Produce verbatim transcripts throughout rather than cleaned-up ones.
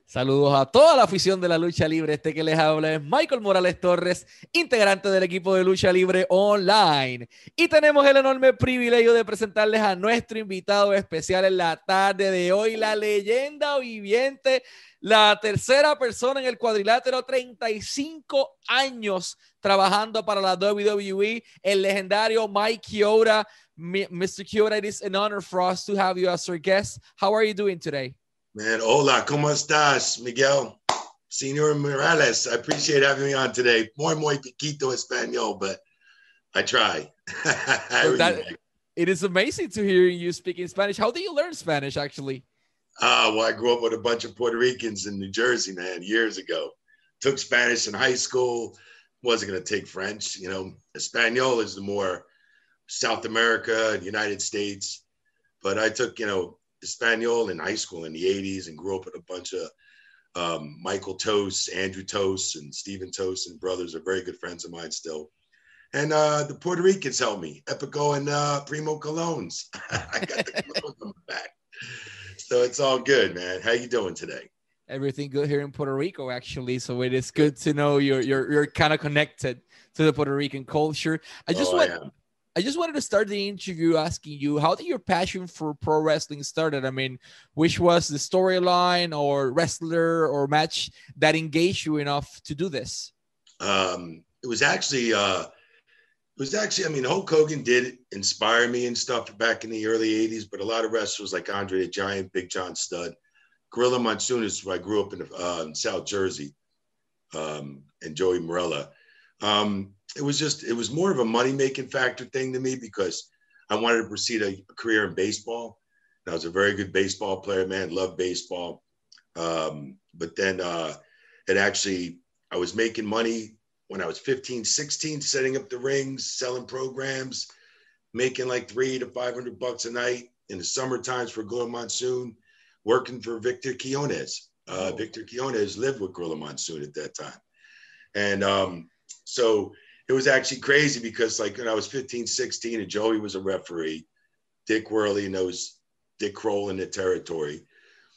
Saludos a toda la afición de la lucha libre. Este que les habla es Michael Morales Torres, integrante del equipo de lucha libre online. Y tenemos el enorme privilegio de presentarles a nuestro invitado especial en la tarde de hoy, la leyenda viviente, la tercera persona en el cuadrilátero, treinta y cinco años trabajando para la W W E, el legendario Mike Chioda. mister Chioda, it is an honor for us to have you as our guest. How are you doing today? Man, hola, ¿cómo estás, Miguel? Señor Morales, I appreciate having me on today. Muy, muy poquito español, but I try. Well, that, it is amazing to hear you speaking Spanish. How did you learn Spanish, actually? Uh, well, I grew up with a bunch of Puerto Ricans in New Jersey, man, years ago. Took Spanish in high school. Wasn't going to take French. You know, Espanol is the more South America and United States. But I took, you know, Espanol in high school in the eighties and grew up with a bunch of um, Michael Toast, Andrew Toast, and Stephen Toast, and brothers are very good friends of mine still. And uh, the Puerto Ricans helped me, Epico and uh, Primo Colognes. I got the Colognes on the back. So it's all good, man. How you doing today? Everything good here in Puerto Rico, actually. So it is good to know you're you're you're kind of connected to the Puerto Rican culture. I just oh, want. I I just wanted to start the interview asking you, how did your passion for pro wrestling started? I mean, which was the storyline or wrestler or match that engaged you enough to do this? Um, it was actually, uh, it was actually, I mean, Hulk Hogan did inspire me and stuff back in the early eighties, but a lot of wrestlers like Andre the Giant, Big John Studd, Gorilla Monsoon is where I grew up in, uh, in South Jersey, um, and Joey Morella. Um, it was just, it was more of a money-making factor thing to me because I wanted to proceed a, a career in baseball. And I was a very good baseball player, man, loved baseball. Um, but then uh, it actually, I was making money when I was fifteen, sixteen, setting up the rings, selling programs, making like three to five hundred bucks a night in the summer times for Gorilla Monsoon, working for Victor Quiones. Uh, oh. Victor Quiones lived with Gorilla Monsoon at that time. And um, so it was actually crazy because like when I was fifteen, sixteen and Joey was a referee, Dick Worley knows Dick Kroll in the territory.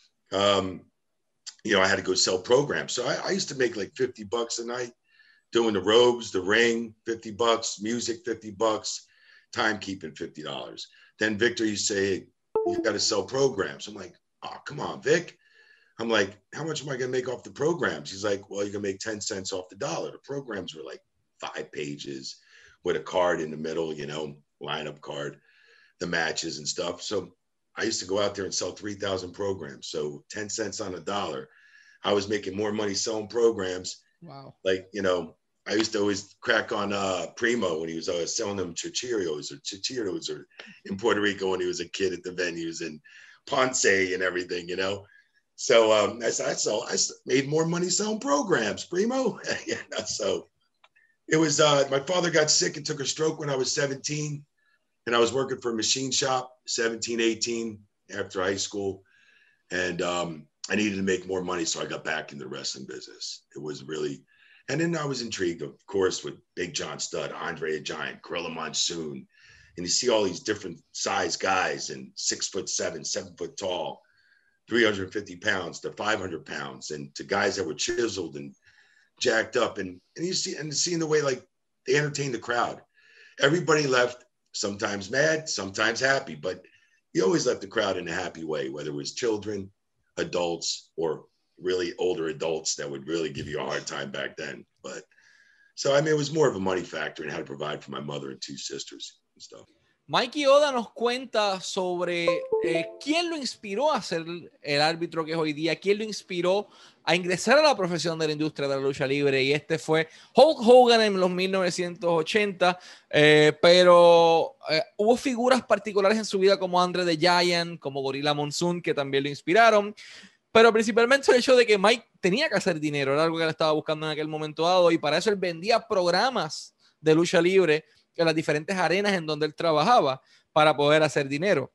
Um, you know, I had to go sell programs. So I, I used to make like fifty bucks a night doing the robes, the ring, fifty bucks, music, fifty bucks, timekeeping, fifty dollars. Then Victor, you say, you got to sell programs. I'm like, oh, come on, Vic. I'm like, how much am I going to make off the programs? He's like, well, you're going to make ten cents off the dollar. The programs were like five pages with a card in the middle, you know, lineup card, the matches and stuff. So I used to go out there and sell three thousand programs. So ten cents on a dollar. I was making more money selling programs. Wow. Like, you know, I used to always crack on uh, Primo when he was uh, selling them chichirios or chichiros or in Puerto Rico when he was a kid at the venues and Ponce and everything, you know. So um, I, I, saw, I made more money selling programs, Primo. Yeah, so it was, uh, my father got sick and took a stroke when I was seventeen. And I was working for a machine shop, seventeen, eighteen, after high school. And um, I needed to make more money, so I got back in the wrestling business. It was really, and then I was intrigued, of course, with Big John Studd, Andre the Giant, Gorilla Monsoon. And you see all these different size guys and six foot seven, seven foot tall, three hundred fifty pounds to five hundred pounds, and to guys that were chiseled and jacked up. And, and you see, and seeing the way like they entertained the crowd. Everybody left sometimes mad, sometimes happy, but you always left the crowd in a happy way, whether it was children, adults, or really older adults that would really give you a hard time back then. But so, I mean, it was more of a money factor and how to provide for my mother and two sisters and stuff. Mike Chioda nos cuenta sobre eh, quién lo inspiró a ser el árbitro que es hoy día, quién lo inspiró a ingresar a la profesión de la industria de la lucha libre, y este fue Hulk Hogan en los mil novecientos ochenta, eh, pero eh, hubo figuras particulares en su vida como Andre the Giant, como Gorilla Monsoon, que también lo inspiraron, pero principalmente el hecho de que Mike tenía que hacer dinero, era algo que él estaba buscando en aquel momento dado, y para eso él vendía programas de lucha libre en las diferentes arenas en donde él trabajaba para poder hacer dinero.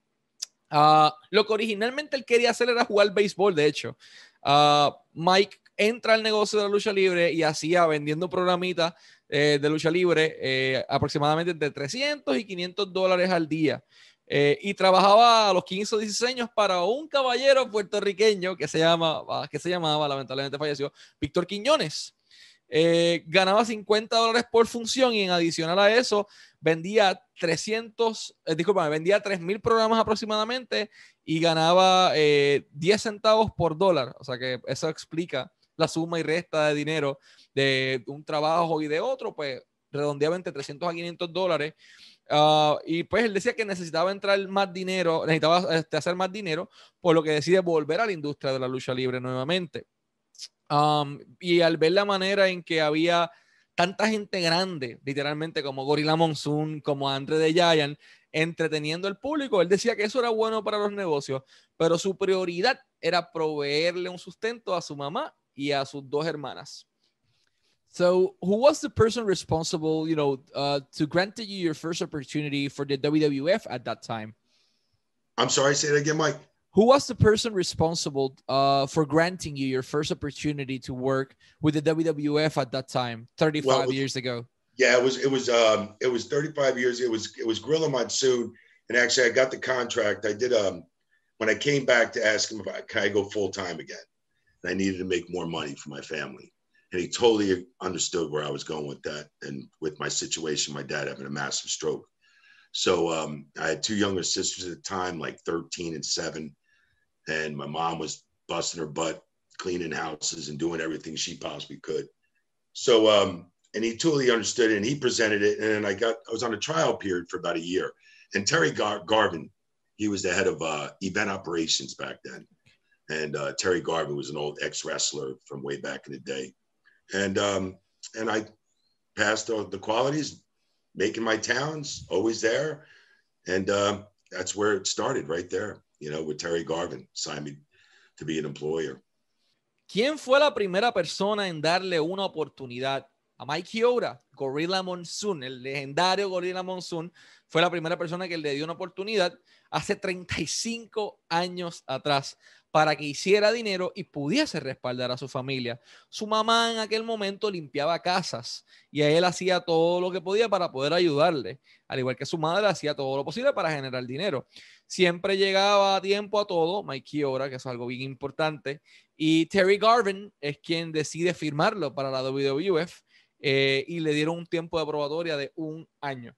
Uh, lo que originalmente él quería hacer era jugar béisbol, de hecho. Uh, Mike entra al negocio de la lucha libre y hacía vendiendo programitas eh, de lucha libre eh, aproximadamente entre trescientos y quinientos dólares al día. Eh, y trabajaba a los quince o dieciséis años para un caballero puertorriqueño que se, llama, que se llamaba, lamentablemente falleció, Víctor Quiñones. Eh, ganaba cincuenta dólares por función y en adicional a eso vendía trescientos, eh, discúlpame, vendía tres mil programas aproximadamente y ganaba eh, diez centavos por dólar. O sea que eso explica la suma y resta de dinero de un trabajo y de otro, pues redondeaba entre trescientos a quinientos dólares. Uh, y pues él decía que necesitaba entrar más dinero, necesitaba este, hacer más dinero, por lo que decide volver a la industria de la lucha libre nuevamente. Um, y al ver la manera en que había tanta gente grande, literalmente como Gorilla Monsoon, como Andre the Giant, entreteniendo al público, él decía que eso era bueno para los negocios, pero su prioridad era proveerle un sustento a su mamá y a sus dos hermanas. So, who was the person responsible, you know, uh, to grant you your first opportunity for the W W F at that time? I'm sorry, say that again, Mike. Who was the person responsible uh, for granting you your first opportunity to work with the W W F at that time, thirty-five well, was, years ago? Yeah, it was it was um it was thirty-five years. It was it was Gorilla Monsoon, and actually I got the contract. I did um when I came back to ask him if I can I go full time again, and I needed to make more money for my family, and he totally understood where I was going with that, and with my situation, my dad having a massive stroke. So um, I had two younger sisters at the time, like thirteen and seven. And my mom was busting her butt, cleaning houses and doing everything she possibly could. So, um, and he totally understood it, and he presented it. And I got, I was on a trial period for about a year. And Terry Gar- Garvin, he was the head of uh, event operations back then. And uh, Terry Garvin was an old ex-wrestler from way back in the day. And um, and I passed the, the qualities, making my towns, always there. And uh, that's where it started, right there. You know, with Terry Garvin, signed me to be an employer. ¿Quién fue la primera persona en darle una oportunidad a Mike Chioda? Gorilla Monsoon, el legendario Gorilla Monsoon, fue la primera persona que le dio una oportunidad hace treinta y cinco años atrás para que hiciera dinero y pudiese respaldar a su familia. Su mamá en aquel momento limpiaba casas y a él hacía todo lo que podía para poder ayudarle, al igual que su madre hacía todo lo posible para generar dinero. Siempre llegaba a tiempo a todo, Mike Chioda, que es algo bien importante, y Terry Garvin es quien decide firmarlo para la W W F eh, y le dieron un tiempo de probatoria de un año.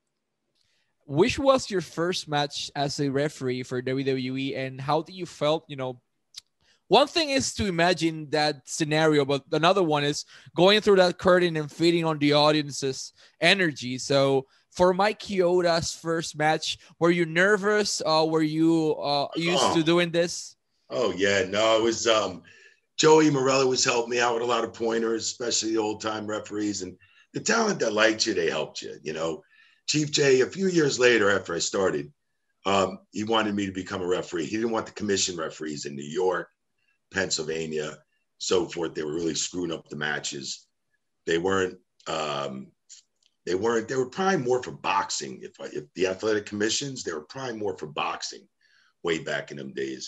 Which was your first match as a referee for W W E, and how did you felt, you know, one thing is to imagine that scenario, but another one is going through that curtain and feeding on the audience's energy. So for Mike Chioda's first match, were you nervous? Uh, were you uh, used oh. to doing this? Oh, yeah. No, it was um, Joey Morello was helping me out with a lot of pointers, especially the old-time referees. And the talent that liked you, they helped you. You know, Chief Jay, a few years later after I started, um, he wanted me to become a referee. He didn't want the commission referees in New York, Pennsylvania, so forth. They were really screwing up the matches. They weren't, um, they weren't, they were probably more for boxing. If, I, if the athletic commissions, they were probably more for boxing way back in them days.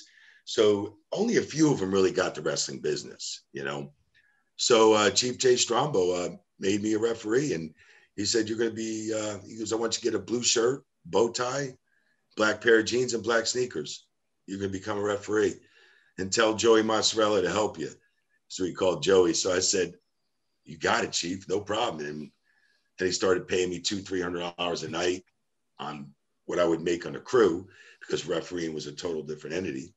So only a few of them really got the wrestling business, you know? So uh, Chief Jay Strombo uh, made me a referee, and he said, you're going to be, uh, he goes, I want you to get a blue shirt, bow tie, black pair of jeans, and black sneakers. You're going to become a referee. And tell Joey Mozzarella to help you. So he called Joey. So I said, you got it, Chief, no problem. And then he started paying me two, three hundred dollars a night on what I would make on a crew, because refereeing was a total different entity.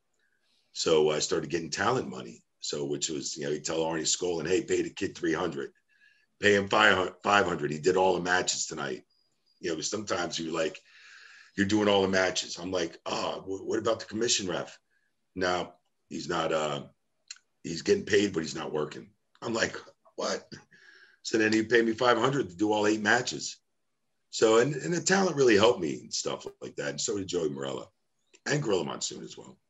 So I started getting talent money. So, which was, you know, you tell Arnie Skoll, and hey, pay the kid three hundred, pay him five hundred. He did all the matches tonight. You know, sometimes you're like, you're doing all the matches. I'm like, oh, what about the commission ref? Now, he's not, uh, he's getting paid, but he's not working. I'm like, what? So then he paid me five hundred to do all eight matches. So, and, and the talent really helped me and stuff like that. And so did Joey Morella and Gorilla Monsoon as well.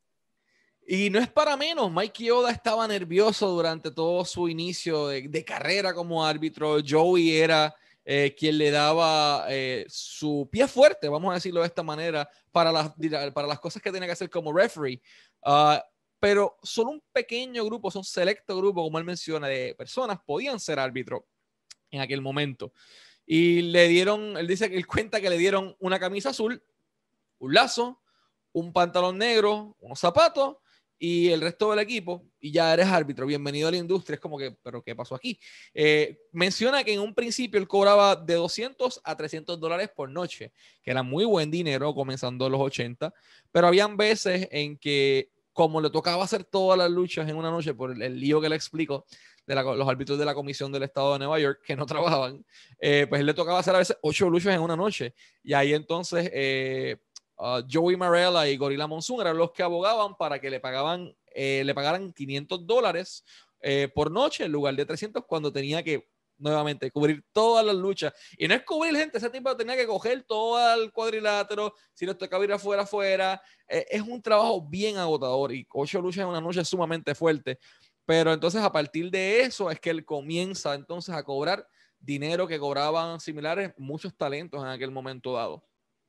Y no es para menos, Mike Chioda estaba nervioso durante todo su inicio de, de carrera como árbitro. Joey era eh, quien le daba eh, su pie fuerte, vamos a decirlo de esta manera, para las, para las cosas que tenía que hacer como referee. Uh, pero solo un pequeño grupo, un selecto grupo, como él menciona, de personas podían ser árbitro en aquel momento. Y le dieron, él dice que él cuenta que le dieron una camisa azul, un lazo, un pantalón negro, unos zapatos y el resto del equipo, y ya eres árbitro, bienvenido a la industria. Es como que, ¿pero qué pasó aquí? Eh, menciona que en un principio él cobraba de doscientos a trescientos dólares por noche, que era muy buen dinero comenzando en los ochenta, pero habían veces en que, como le tocaba hacer todas las luchas en una noche por el, el lío que le explico de la, los árbitros de la Comisión del Estado de Nueva York, que no trabajaban, eh, pues él le tocaba hacer a veces ocho luchas en una noche, y ahí entonces... Eh, Uh, Joey Marella y Gorilla Monsoon eran los que abogaban para que le pagaban, eh, le pagaran quinientos dólares eh, por noche en lugar de trescientos, cuando tenía que nuevamente cubrir todas las luchas. Y no es cubrir gente, ese tipo tenía que coger todo el cuadrilátero, si les tocaba ir afuera, afuera. Eh, es un trabajo bien agotador y ocho luchas en una noche es sumamente fuerte. Pero entonces a partir de eso es que él comienza entonces a cobrar dinero que cobraban similares muchos talentos en aquel momento dado.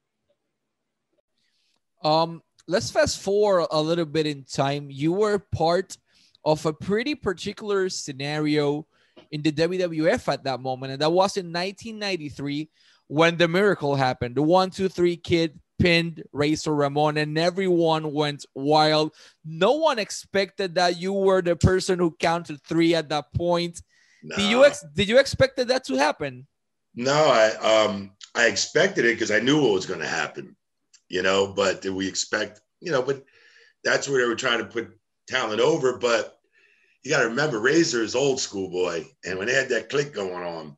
Um, let's fast forward a little bit in time. You were part of a pretty particular scenario in the W W F at that moment, and that was in nineteen ninety-three when the miracle happened. The one, two, three kid pinned Razor Ramon, and everyone went wild. No one expected that you were the person who counted three at that point. No. Did you ex- did you expect that to happen? No, I um I expected it because I knew what was going to happen. You know, but did we expect, you know, but that's where they were trying to put talent over. But you got to remember, Razor is old school boy. And when they had that click going on,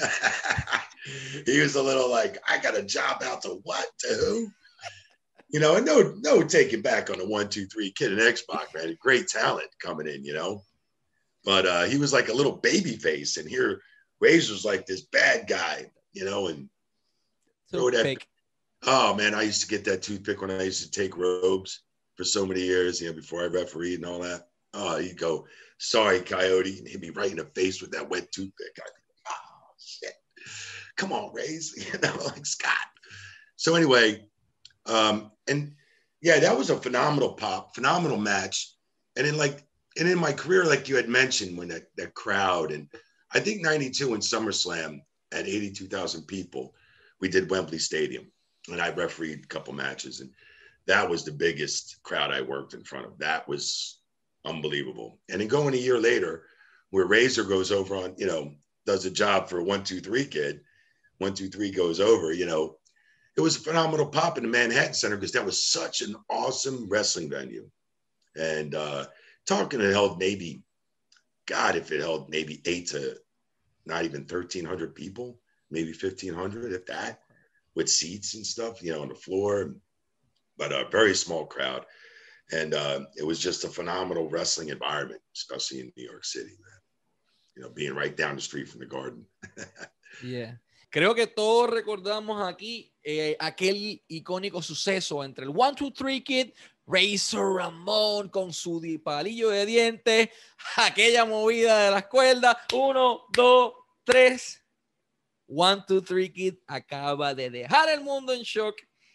he was a little like, I got a job out to what, to who? You know, and no, no taking back on the one, two, three kid in X-Pac, man. Great talent coming in, you know. But uh, he was like a little baby face. And here, Razor's like this bad guy, you know, and so throw that. fake. Oh, man, I used to get that toothpick when I used to take robes for so many years, you know, before I refereed and all that. Oh, he'd go, sorry, Coyote, and hit me right in the face with that wet toothpick. I'd be, oh, shit. Come on, Rays. You know, like Scott. So anyway, um, and, yeah, that was a phenomenal pop, phenomenal match. And then, like, and in my career, like you had mentioned, when that, that crowd, and I think ninety-two in SummerSlam at eighty-two thousand people, we did Wembley Stadium. And I refereed a couple matches, and that was the biggest crowd I worked in front of. That was unbelievable. And then going a year later, where Razor goes over on, you know, does a job for a one, two, three kid, one, two, three goes over, you know, it was a phenomenal pop in the Manhattan Center because that was such an awesome wrestling venue. And uh, talking, it held maybe, God, if it held maybe eight to not even thirteen hundred people, maybe fifteen hundred, if that. With seats and stuff, you know, on the floor, but a very small crowd. And uh, it was just a phenomenal wrestling environment, especially in New York City, man. You know, being right down the street from the Garden. Yeah. Creo que todos recordamos aquí eh, aquel icónico suceso entre el one, two, three Kid, Razor Ramon con su palillo de dientes, aquella movida de las cuerdas, uno, dos, tres. One, two, three Kid acaba de dejar el mundo en shock.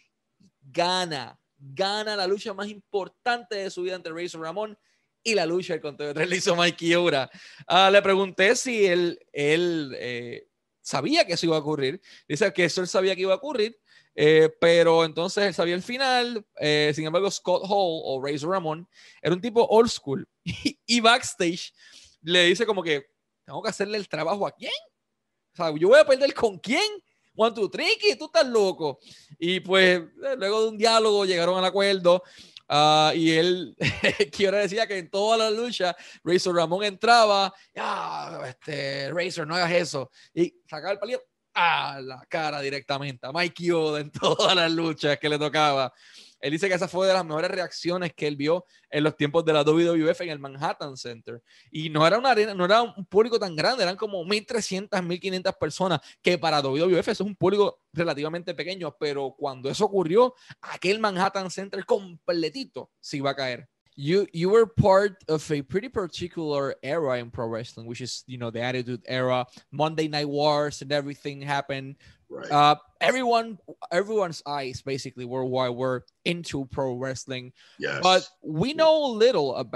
Gana, gana la lucha más importante de su vida entre Razor Ramon y la lucha del conteo de tres le hizo Mikey Ura. Uh, le pregunté si él, él eh, sabía que eso iba a ocurrir. Dice que eso él sabía que iba a ocurrir, eh, pero entonces él sabía el final. Eh, sin embargo, Scott Hall o Razor Ramon era un tipo old school y, y backstage le dice como que tengo que hacerle el trabajo a quién. O sea, yo voy a perder con quién. One, two, three, tú estás loco. Y pues, luego de un diálogo llegaron al acuerdo. Uh, y él, Kiora decía que en toda la lucha, Razor Ramon entraba. Ah, este, Razor, no hagas eso. Y sacaba el palillo a la cara directamente a Mikey Oda en todas las luchas que le tocaba. Él dice que esa fue de las mejores reacciones que él vio en los tiempos de la W W F en el Manhattan Center. Y no era una arena, no era un público tan grande, eran como mil trescientas, mil quinientas personas, que para W W F eso es un público relativamente pequeño, pero cuando eso ocurrió, aquel Manhattan Center completito se iba a caer. You you were part of a pretty particular era in pro wrestling, which is, you know, the Attitude Era, Monday Night Wars and everything happened. Right. Uh, everyone, everyone's eyes basically worldwide were into pro wrestling. Yes. But we know little about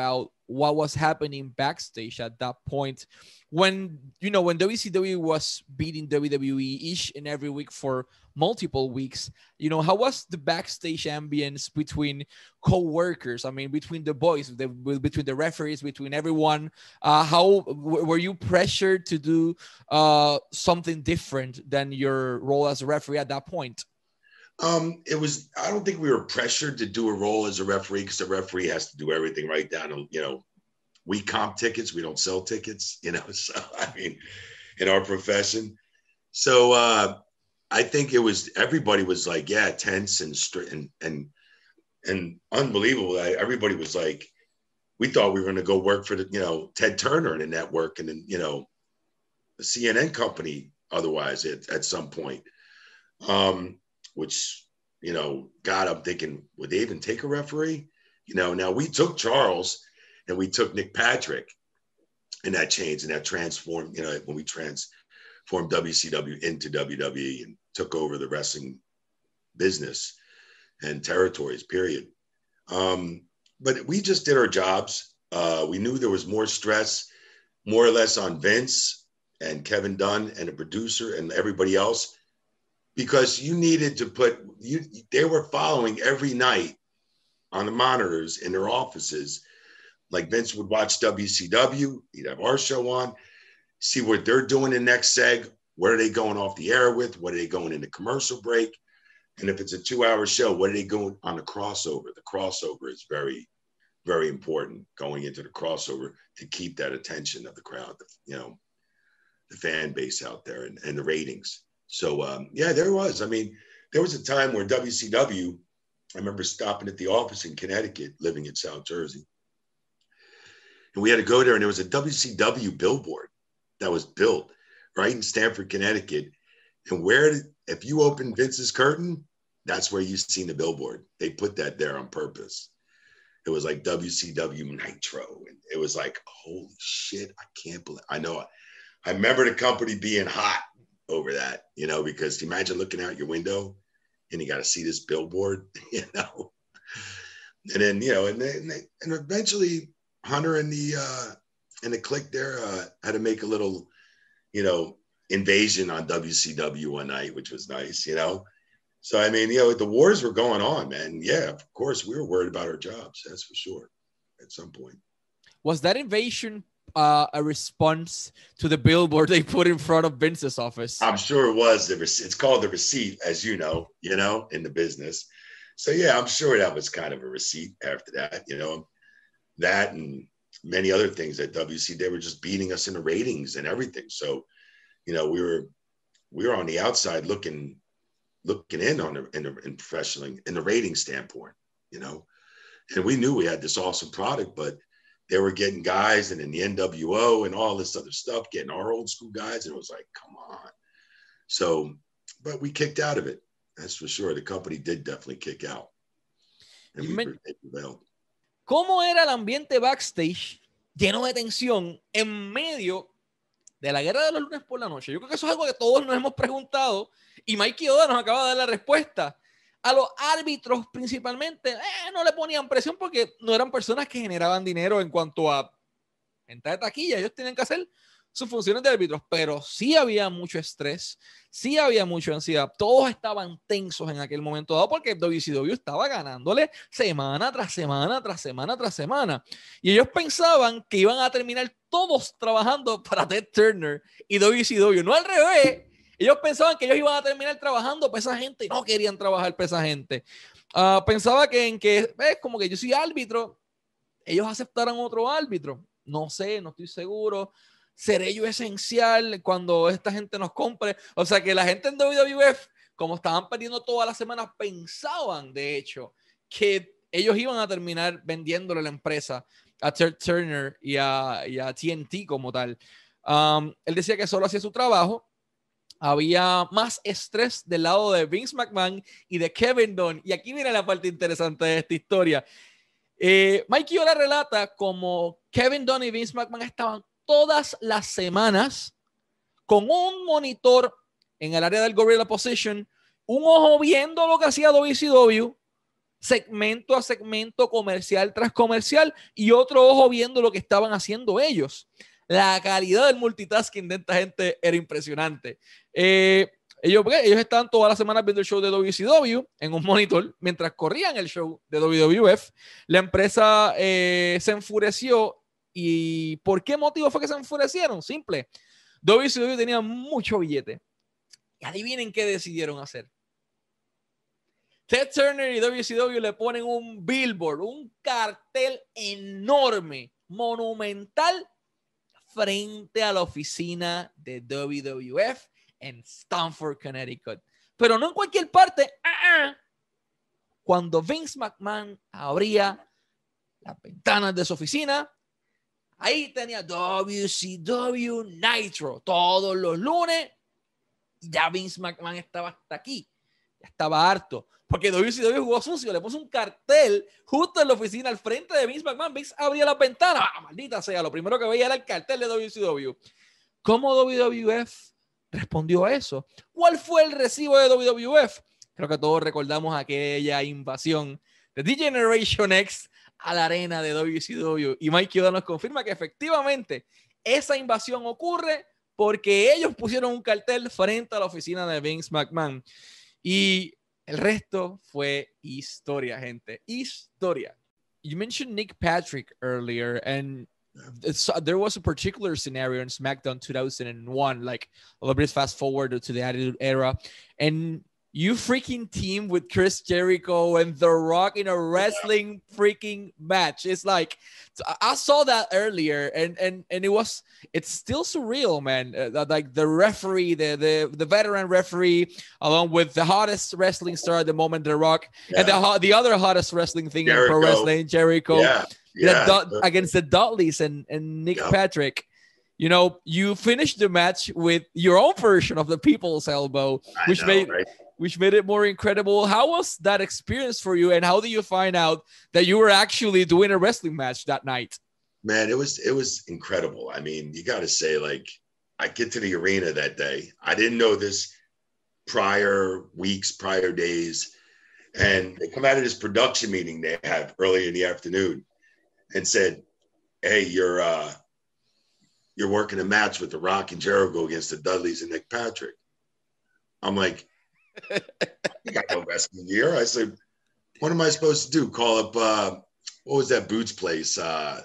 what was happening backstage at that point when, you know, when W C W was beating W W E each and every week for multiple weeks. You know, how was the backstage ambience between co-workers? I mean, between the boys, the, between the referees, between everyone. Uh, how were you pressured to do uh, something different than your role as a referee at that point? Um, it was, I don't think we were pressured to do a role as a referee, because the referee has to do everything right down to, you know, we comp tickets, we don't sell tickets, you know, so I mean, in our profession. So uh, I think it was, everybody was like, yeah, tense and and and, and unbelievable. I, everybody was like, we thought we were going to go work for the, you know, Ted Turner in the network, and then, you know, the C N N company otherwise at, at some point. Um, which, you know, God, I'm thinking, would they even take a referee? You know, now we took Charles and we took Nick Patrick, and that changed and that transformed, you know, when we transformed W C W into W W E and took over the wrestling business and territories, period. Um, but we just did our jobs. Uh, we knew there was more stress, more or less on Vince and Kevin Dunn and the producer and everybody else, because you needed to put, you, they were following every night on the monitors in their offices. Like Vince would watch W C W, he'd have our show on, see what they're doing in next seg, what are they going off the air with, what are they going into commercial break, and if it's a two-hour show, what are they going on the crossover? The crossover is very, very important, going into the crossover to keep that attention of the crowd, you know, the fan base out there, and, and the ratings. So, um, yeah, there was. I mean, there was a time where W C W, I remember stopping at the office in Connecticut, living in South Jersey. And we had to go there, and there was a W C W billboard that was built right in Stamford, Connecticut. And where, did, if you open Vince's curtain, that's where you seen the billboard. They put that there on purpose. It was like W C W Nitro. And it was like, holy shit, I can't believe, I know. I remember the company being hot over that, you know, because imagine looking out your window and you got to see this billboard, you know, and then, you know, and they, and, they, and eventually Hunter and the, uh, and the clique there uh, had to make a little, you know, invasion on W C W one night, which was nice, you know? So, I mean, you know, the wars were going on, man. Yeah, of course we were worried about our jobs. That's for sure. At some point. Was that invasion Uh, a response to the billboard they put in front of Vince's office? I'm sure it was. The rec- it's called the receipt, as you know, you know, in the business. So yeah, I'm sure that was kind of a receipt after that, you know, that and many other things at W C. They were just beating us in the ratings and everything. So, you know, we were we were on the outside looking looking in on the in the in professional in the rating standpoint, you know, and we knew we had this awesome product, but they were getting guys and in the N W O and all this other stuff, getting our old school guys. And it was like, come on. So, but we kicked out of it. That's for sure. The company did definitely kick out. And we prevailed. ¿Cómo era el ambiente backstage lleno de tensión en medio de la guerra de los lunes por la noche? Yo creo que eso es algo que todos nos hemos preguntado y Mikey Oda nos acaba de dar la respuesta. A los árbitros principalmente eh, no le ponían presión porque no eran personas que generaban dinero en cuanto a venta de taquilla. Ellos tenían que hacer sus funciones de árbitros, pero sí había mucho estrés, sí había mucha ansiedad. Todos estaban tensos en aquel momento dado porque W C W estaba ganándole semana tras semana, tras semana, tras semana. Y ellos pensaban que iban a terminar todos trabajando para Ted Turner y W C W, no al revés. Ellos pensaban que ellos iban a terminar trabajando para esa gente y no querían trabajar para esa gente. Uh, pensaba que en que, ves, como que yo soy árbitro, ellos aceptaran otro árbitro. No sé, no estoy seguro. ¿Seré yo esencial cuando esta gente nos compre? O sea, que la gente en W W F, como estaban perdiendo todas las semanas, pensaban, de hecho, que ellos iban a terminar vendiéndole la empresa a Ted Turner y a, y a T N T como tal. Um, él decía que solo hacía su trabajo. Había más estrés del lado de Vince McMahon y de Kevin Dunn. Y aquí viene la parte interesante de esta historia. Eh, Mikey Ola relata como Kevin Dunn y Vince McMahon estaban todas las semanas con un monitor en el área del Gorilla Position, un ojo viendo lo que hacía W C W segmento a segmento, comercial tras comercial, y otro ojo viendo lo que estaban haciendo ellos. La calidad del multitasking de esta gente era impresionante. Eh, ellos, ellos estaban todas las semanas viendo el show de W C W en un monitor mientras corrían el show de W W F. La empresa eh, se enfureció. ¿Y por qué motivo fue que se enfurecieron? Simple. W C W tenía mucho billete. Y adivinen qué decidieron hacer. Ted Turner y W C W le ponen un billboard, un cartel enorme, monumental, frente a la oficina de W W F en Stamford, Connecticut. Pero no en cualquier parte. Uh-uh. Cuando Vince McMahon abría las ventanas de su oficina, ahí tenía W C W Nitro todos los lunes. Y ya Vince McMahon estaba hasta aquí. Ya estaba harto. Porque W C W jugó sucio. Le puso un cartel justo en la oficina al frente de Vince McMahon. Vince abría las ventanas. ¡Ah, maldita sea! Lo primero que veía era el cartel de W C W. ¿Cómo W W F respondió a eso? ¿Cuál fue el recibo de W W F? Creo que todos recordamos aquella invasión de The Generation X a la arena de W C W. Y Mike Yoda nos confirma que efectivamente esa invasión ocurre porque ellos pusieron un cartel frente a la oficina de Vince McMahon. Y el resto fue historia, gente. Historia. You mentioned Nick Patrick earlier, and it's, there was a particular scenario in SmackDown two thousand one, like a little bit fast forward to the Attitude Era, and you freaking team with Chris Jericho and The Rock in a wrestling freaking match. It's like, I saw that earlier, and and and it was, it's still surreal, man. Uh, like the referee, the the the veteran referee, along with the hottest wrestling star at the moment, The Rock, yeah. and the the other hottest wrestling thing Jericho. in pro wrestling, Jericho, yeah, yeah. The, against the Dudleys and and Nick yeah. Patrick. You know, you finished the match with your own version of the People's Elbow, I which know, made. Right? which made it more incredible. How was that experience for you? And how did you find out that you were actually doing a wrestling match that night? Man, it was, it was incredible. I mean, you got to say, like, I get to the arena that day. I didn't know this prior weeks, prior days. And they come out of this production meeting they have early in the afternoon and said, hey, you're, uh, you're working a match with The Rock and Jericho against the Dudleys and Nick Patrick. I'm like, you got no wrestling gear. I said, what am I supposed to do? Call up, uh, what was that boots place? Uh,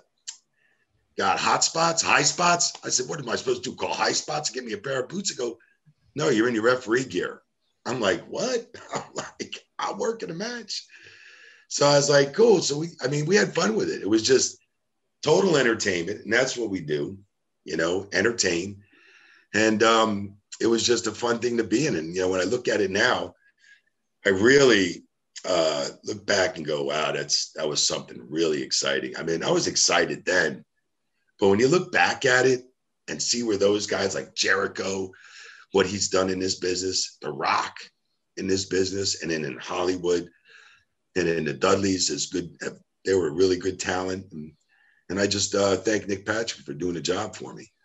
got hot spots, high spots. I said, what am I supposed to do? Call high spots and give me a pair of boots and go, no, you're in your referee gear. I'm like, what? I'm like, I'm working a match. So I was like, cool. So we, I mean, we had fun with it. It was just total entertainment. And that's what we do, you know, entertain. And, um, it was just a fun thing to be in. And, you know, when I look at it now, I really uh, look back and go, wow, that's, that was something really exciting. I mean, I was excited then, but when you look back at it and see where those guys like Jericho, what he's done in this business, The Rock in this business, and then in Hollywood, and in the Dudleys is good. They were really good talent. And, and I just uh, thank Nick Patrick for doing the job for me.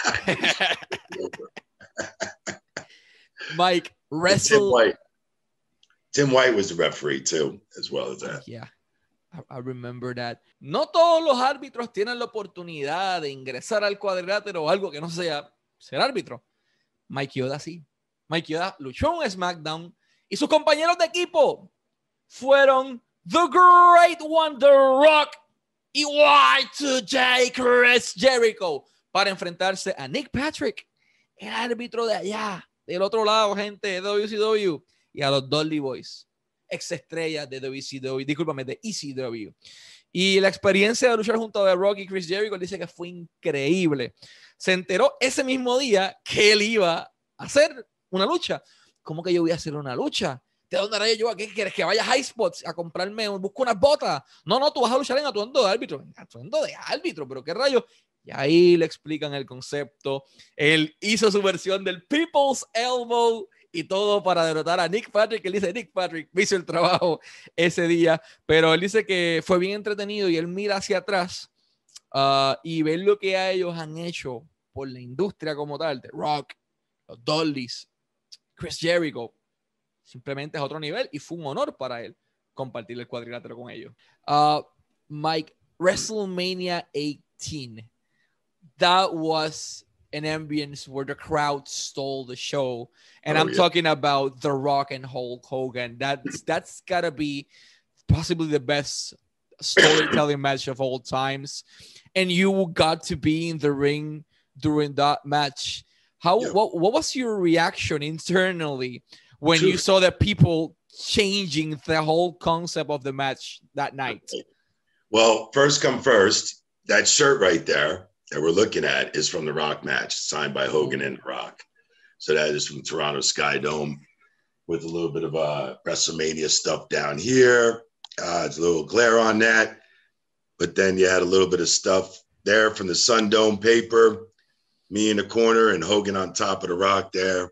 Mike, wrestle. Tim White. Tim White was the referee too, as well as that. Yeah, I, I remember that. No todos los árbitros tienen la oportunidad de ingresar al cuadrilátero o algo que no sea ser árbitro. Mike Yoda sí. Mike Yoda luchó en SmackDown y sus compañeros de equipo fueron The Great One, The Rock y Y two J Chris Jericho para enfrentarse a Nick Patrick, el árbitro de allá, del otro lado, gente de W C W, y a los Dudley Boys, ex estrellas de W C W, discúlpame, de E C W. Y la experiencia de luchar junto a The Rock y Chris Jericho dice que fue increíble. Se enteró ese mismo día que él iba a hacer una lucha. ¿Cómo que yo voy a hacer una lucha? ¿De dónde haré yo? ¿A qué quieres? ¿Que vaya a High Spots a comprarme, busco unas botas? No, no, tú vas a luchar en atuendo de árbitro. En atuendo de árbitro, pero qué rayos. Y ahí le explican el concepto. Él hizo su versión del People's Elbow y todo para derrotar a Nick Patrick. Él dice, Nick Patrick me hizo el trabajo ese día, pero él dice que fue bien entretenido y él mira hacia atrás uh, y ve lo que a ellos han hecho por la industria como tal, The Rock, los Dudleys, Chris Jericho. Simplemente es otro nivel y fue un honor para él. compartir el cuadrilátero con ellos. Uh, Mike, WrestleMania eighteen, that was an ambience where the crowd stole the show. And oh, I'm yeah. talking about The Rock and Hulk Hogan. That's, that's gotta be possibly the best storytelling match of all times. And you got to be in the ring during that match. How, yeah. what, what was your reaction internally when True. you saw that people changing the whole concept of the match that night? Well, first come first, that shirt right there that we're looking at is from the Rock match, signed by Hogan and The Rock. So that is from Toronto Sky Dome with a little bit of uh, WrestleMania stuff down here. Uh, it's a little glare on that. But then you had a little bit of stuff there from the Sun Dome paper, me in the corner and Hogan on top of The Rock there.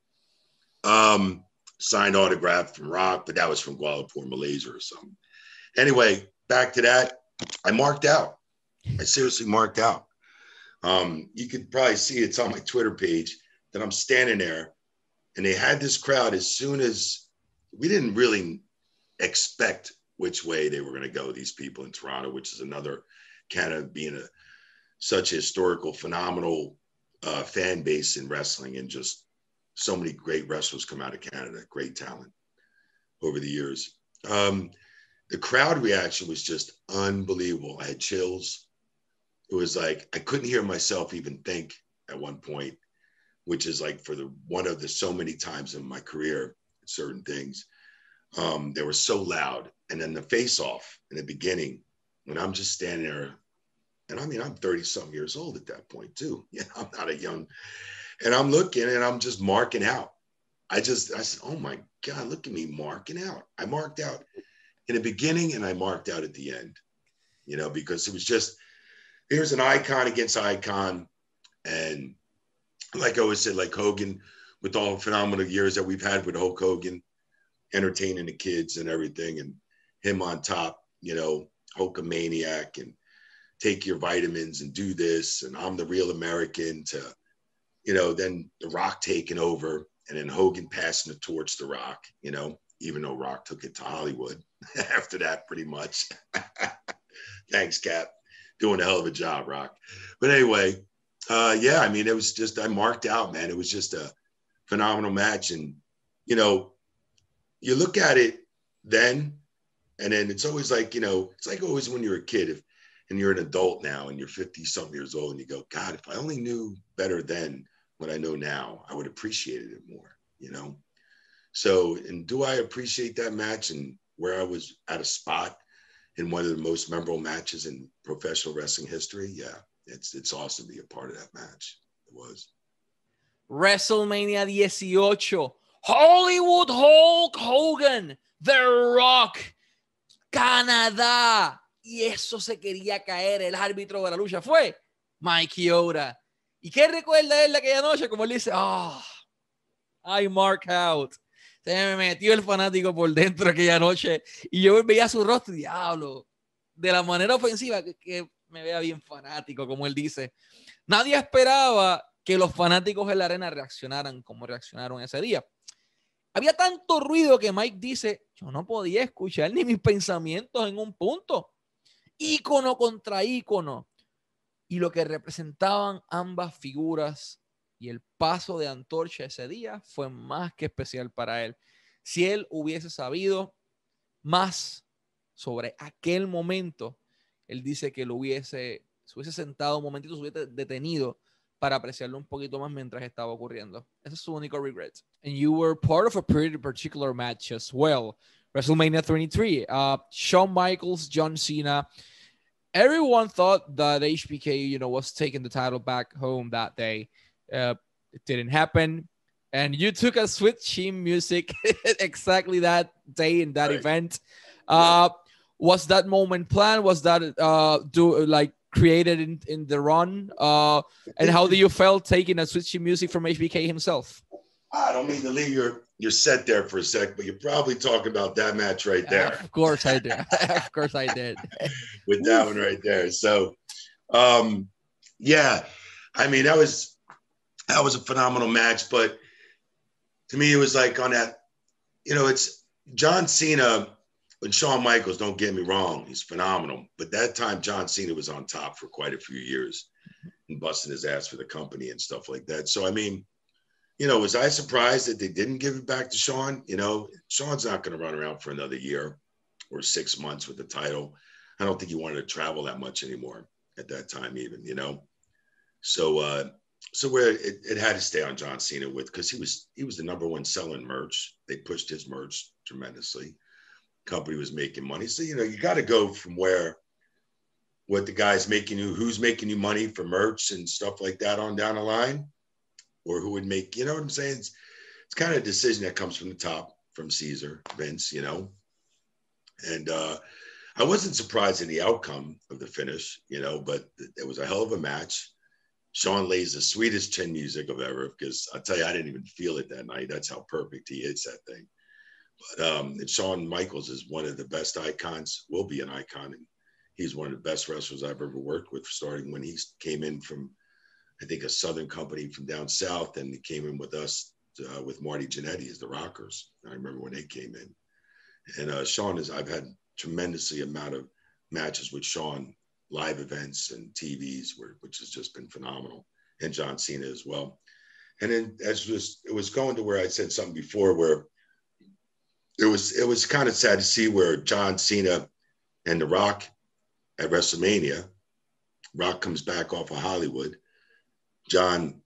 Um, signed autograph from Rock, but that was from Kuala Lumpur, Malaysia or something. Anyway, back to that. I marked out. I seriously marked out. Um, you could probably see it's on my Twitter page that I'm standing there and they had this crowd as soon as we didn't really expect which way they were going to go, these people in Toronto, which is another kind of being a such a historical, phenomenal uh, fan base in wrestling, and just so many great wrestlers come out of Canada, great talent over the years. Um, the crowd reaction was just unbelievable. I had chills. It was like, I couldn't hear myself even think at one point, which is like for the one of the so many times in my career, certain things, um, they were so loud. And then the face off in the beginning, when I'm just standing there, and I mean, I'm thirty something years old at that point too. Yeah, I'm not a young, and I'm looking and I'm just marking out. I just, I said, oh my God, look at me marking out. I marked out in the beginning and I marked out at the end, you know, because it was just, here's an icon against icon. And like I always said, like Hogan, with all the phenomenal years that we've had with Hulk Hogan, entertaining the kids and everything, and him on top, you know, Hulkamaniac and take your vitamins and do this. And I'm the real American, to, you know, then The Rock taking over and then Hogan passing the torch to Rock, you know, even though Rock took it to Hollywood after that, pretty much. Thanks, Cap. Doing a hell of a job, Rock. But anyway, uh, yeah, I mean, it was just, I marked out, man. It was just a phenomenal match. And, you know, you look at it then, and then it's always like, you know, it's like always when you're a kid, if, and you're an adult now and you're fifty something years old and you go, God, if I only knew better then what I know now, I would appreciate it more, you know? So, and do I appreciate that match and where I was at a spot in one of the most memorable matches in professional wrestling history? Yeah, it's it's awesome to be a part of that match. It was. WrestleMania eighteen, Hollywood Hulk Hogan, The Rock, Canadá. Y eso se quería caer. El árbitro de la lucha fue Mike Chioda. ¿Y qué recuerda él de aquella noche? Como él dice, ah, oh, I mark out. Se me metió el fanático por dentro aquella noche y yo veía su rostro y diablo, de la manera ofensiva, que, que me vea bien fanático, como él dice. Nadie esperaba que los fanáticos en la arena reaccionaran como reaccionaron ese día. Había tanto ruido que Mike dice, yo no podía escuchar ni mis pensamientos en un punto. Ícono contra ícono. Y lo que representaban ambas figuras y el paso de antorcha ese día fue más que especial para él. Si él hubiese sabido más sobre aquel momento, él dice que lo hubiese, se hubiese sentado un momentito, se hubiese detenido para apreciarlo un poquito más mientras estaba ocurriendo. Ese es su único regret. And you were part of a pretty particular match as well. WrestleMania twenty-three. Uh, Shawn Michaels, John Cena. Everyone thought that H B K, you know, was taking the title back home that day. Uh, it didn't happen. And you took a Sweet Chin Music exactly that day in that right. event. Uh, yeah. Was that moment planned? Was that uh, do like created in, in the run? Uh, and how do you felt taking a Sweet Chin Music from H B K himself? I don't mean to leave your, your set there for a sec, but you're probably talking about that match right there. Uh, of course I did. Of course I did. With that one right there. So, um, yeah, I mean, that was, that was a phenomenal match, but to me, it was like on that, you know, it's John Cena and Shawn Michaels, don't get me wrong, he's phenomenal. But that time, John Cena was on top for quite a few years and busting his ass for the company and stuff like that. So, I mean, you know, was I surprised that they didn't give it back to Shawn? You know, Shawn's not going to run around for another year or six months with the title. I don't think he wanted to travel that much anymore at that time, even, you know. So, uh, so where it, it had to stay on John Cena with, because he was he was the number one selling merch. They pushed his merch tremendously. Company was making money. So, you know, you got to go from where what the guy's making you, who's making you money for merch and stuff like that on down the line, or who would make, you know what I'm saying? It's, it's kind of a decision that comes from the top, from Caesar, Vince, you know. And uh, I wasn't surprised in the outcome of the finish, you know, but it was a hell of a match. Shawn lays the sweetest chin music of ever, because I'll tell you, I didn't even feel it that night. That's how perfect he hits that thing. But um, and Shawn Michaels is one of the best icons, will be an icon. And he's one of the best wrestlers I've ever worked with, starting when he came in from, I think, a Southern company from down south, and he came in with us uh, with Marty Jannetty as the Rockers. I remember when they came in. And uh, Shawn is, I've had tremendously amount of matches with Shawn, live events and T Vs, where, which has just been phenomenal, and John Cena as well. And then as was, it was going to where I said something before, where it was, it was kind of sad to see where John Cena and The Rock at WrestleMania, Rock comes back off of Hollywood. John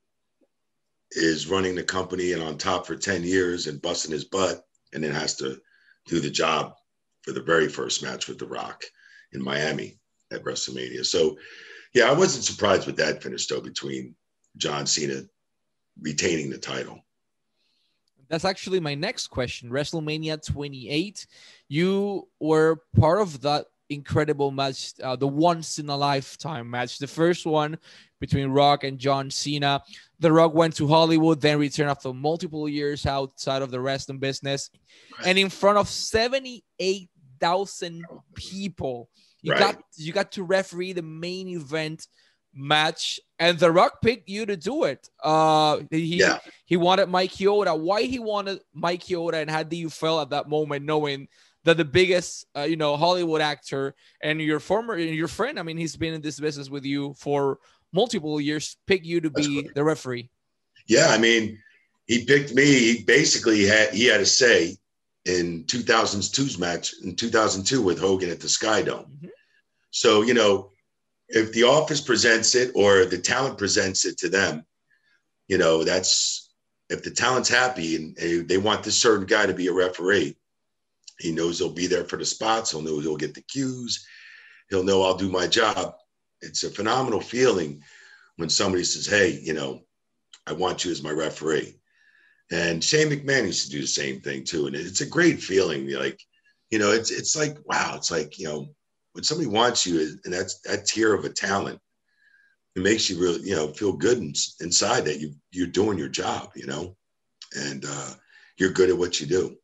is running the company and on top for ten years and busting his butt, and then has to do the job for the very first match with The Rock in Miami at WrestleMania. So, yeah, I wasn't surprised with that finish, though, between John Cena retaining the title. That's actually my next question. WrestleMania twenty-eight, you were part of that incredible match, uh, the once-in-a-lifetime match, the first one between Rock and John Cena. The Rock went to Hollywood, then returned after multiple years outside of the wrestling business, right. And in front of seventy-eight thousand people. You right. got you got to referee the main event match, and The Rock picked you to do it. Uh, he yeah. he wanted Mike Chioda. Why he wanted Mike Chioda, and how do you feel at that moment, knowing that the biggest, uh, you know, Hollywood actor and your former, your friend, I mean, he's been in this business with you for multiple years, picked you to be cool. the referee? Yeah, I mean, he picked me. He basically had he had a say in two thousand two's match in two thousand two with Hogan at the Sky Dome. Mm-hmm. So, you know, if the office presents it or the talent presents it to them, you know, that's, if the talent's happy and they want this certain guy to be a referee, he knows he'll be there for the spots. He'll know he'll get the cues. He'll know I'll do my job. It's a phenomenal feeling when somebody says, hey, you know, I want you as my referee. And Shane McMahon used to do the same thing too. And it's a great feeling. Like, you know, it's, it's like, wow, it's like, you know, when somebody wants you and that's that tier of a talent, it makes you really, you know, feel good in, inside that you, you're doing your job, you know, and uh, you're good at what you do.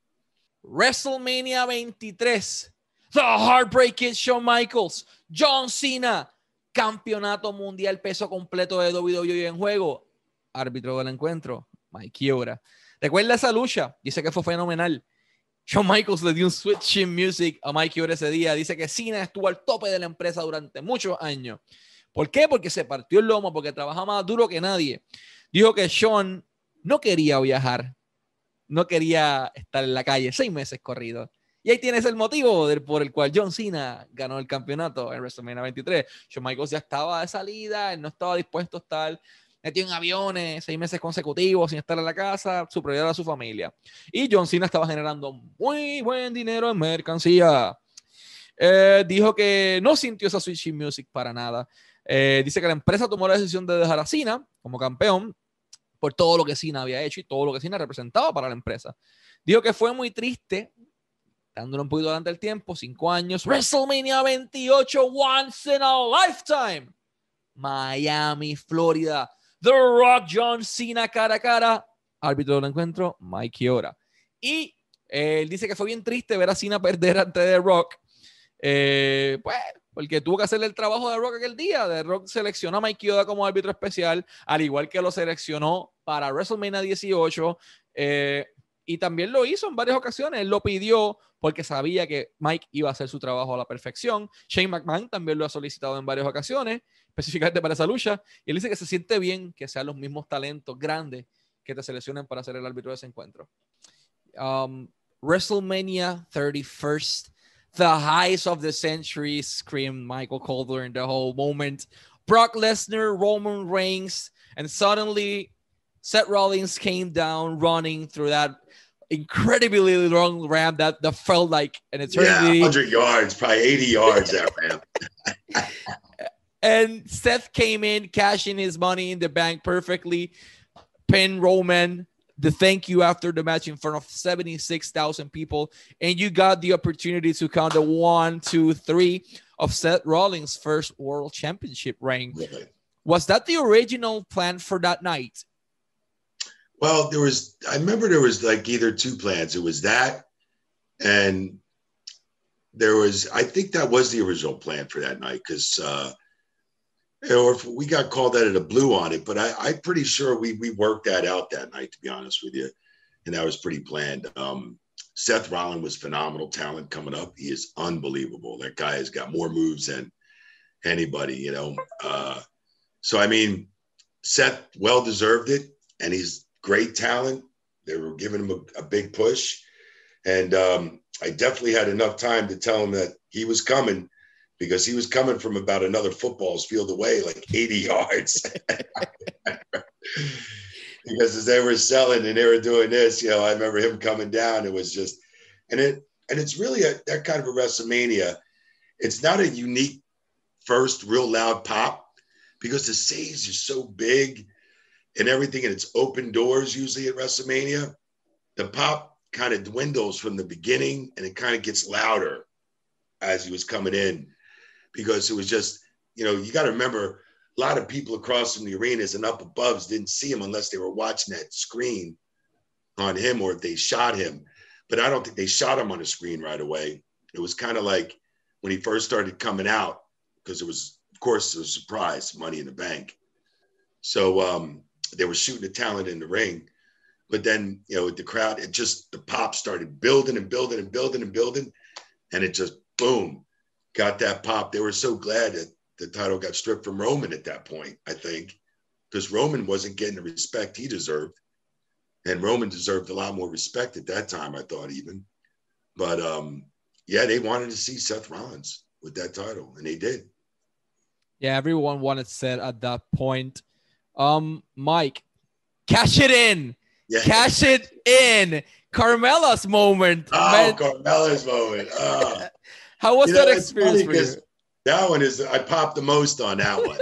WrestleMania twenty-three, The Heartbreak Kid, Shawn Michaels, John Cena, campeonato mundial peso completo de W W E en juego. Árbitro del encuentro, Mike Chioda. ¿Recuerda esa lucha? Dice que fue fenomenal. Shawn Michaels le dio un switching music a Mike Chioda ese día. Dice que Cena estuvo al tope de la empresa durante muchos años. ¿Por qué? Porque se partió el lomo, porque trabaja más duro que nadie. Dijo que Shawn no quería viajar, no quería estar en la calle seis meses corridos. Y ahí tienes el motivo del, por el cual John Cena ganó el campeonato en WrestleMania veintitrés. Shawn Michaels ya estaba de salida, él no estaba dispuesto a estar metido en aviones seis meses consecutivos sin estar en la casa, su prioridad era su familia. Y John Cena estaba generando muy buen dinero en mercancía. Eh, dijo que no sintió esa switching music para nada. Eh, dice que la empresa tomó la decisión de dejar a Cena como campeón por todo lo que Cena había hecho y todo lo que Cena representaba para la empresa. Dijo que fue muy triste, dándole un poquito adelante el tiempo, cinco años, WrestleMania veintiocho, once in a lifetime, Miami, Florida, The Rock, John Cena, cara a cara, árbitro del encuentro, Mike Chioda. Y eh, él dice que fue bien triste ver a Cena perder ante The Rock, eh, pues, porque tuvo que hacerle el trabajo de Rock aquel día. The Rock seleccionó a Mike Chioda como árbitro especial, al igual que lo seleccionó para WrestleMania dieciocho, eh, y también lo hizo en varias ocasiones. Él lo pidió porque sabía que Mike iba a hacer su trabajo a la perfección. Shane McMahon también lo ha solicitado en varias ocasiones, específicamente para esa lucha. Y él dice que se siente bien que sean los mismos talentos grandes que te seleccionen para ser el árbitro de ese encuentro. Um, WrestleMania thirty-first, the highs of the century, screamed Michael Cole during the whole moment. Brock Lesnar, Roman Reigns, and suddenly Seth Rollins came down running through that incredibly long ramp that, that felt like an eternity. Yeah, one hundred yards, probably eighty yards, that ramp. And Seth came in, cashing his money in the bank perfectly, pinned Roman, the thank you after the match in front of seventy-six thousand people, and you got the opportunity to count the one, two, three of Seth Rollins' first World Championship reign. Really? Was that the original plan for that night? Well, there was, I remember there was like either two plans. It was that, and there was, I think that was the original plan for that night, because, uh, or if we got called out of the blue on it, but I, I'm pretty sure we we worked that out that night, to be honest with you, and that was pretty planned. Um, Seth Rollins was phenomenal talent coming up. He is unbelievable. That guy has got more moves than anybody, you know. Uh, so, I mean, Seth well deserved it, and he's great talent. They were giving him a, a big push. And um, I definitely had enough time to tell him that he was coming, because he was coming from about another football's field away, like eighty yards. Because as they were selling and they were doing this, you know, I remember him coming down. It was just, and it, and it's really a, that kind of a WrestleMania. It's not a unique first real loud pop, because the stage is so big and everything, and it's open doors usually at WrestleMania. The pop kind of dwindles from the beginning, and it kind of gets louder as he was coming in, because it was just, you know, you got to remember, a lot of people across from the arenas and up above didn't see him unless they were watching that screen on him, or if they shot him. But I don't think they shot him on the screen right away. It was kind of like when he first started coming out, because it was, of course, a surprise, Money in the Bank. So um, they were shooting the talent in the ring. But then, you know, with the crowd, it just, the pop started building and building and building and building. And it just, boom, got that pop. They were so glad that the title got stripped from Roman at that point, I think, because Roman wasn't getting the respect he deserved. And Roman deserved a lot more respect at that time, I thought, even. But, um, yeah, they wanted to see Seth Rollins with that title, and they did. Yeah, everyone wanted Seth at that point. Um, Mike, cash it in. Yeah. Cash it in. Carmella's moment. Oh, man. Carmella's moment. Oh. How was you that know, experience for you? That one is, I popped the most on that one.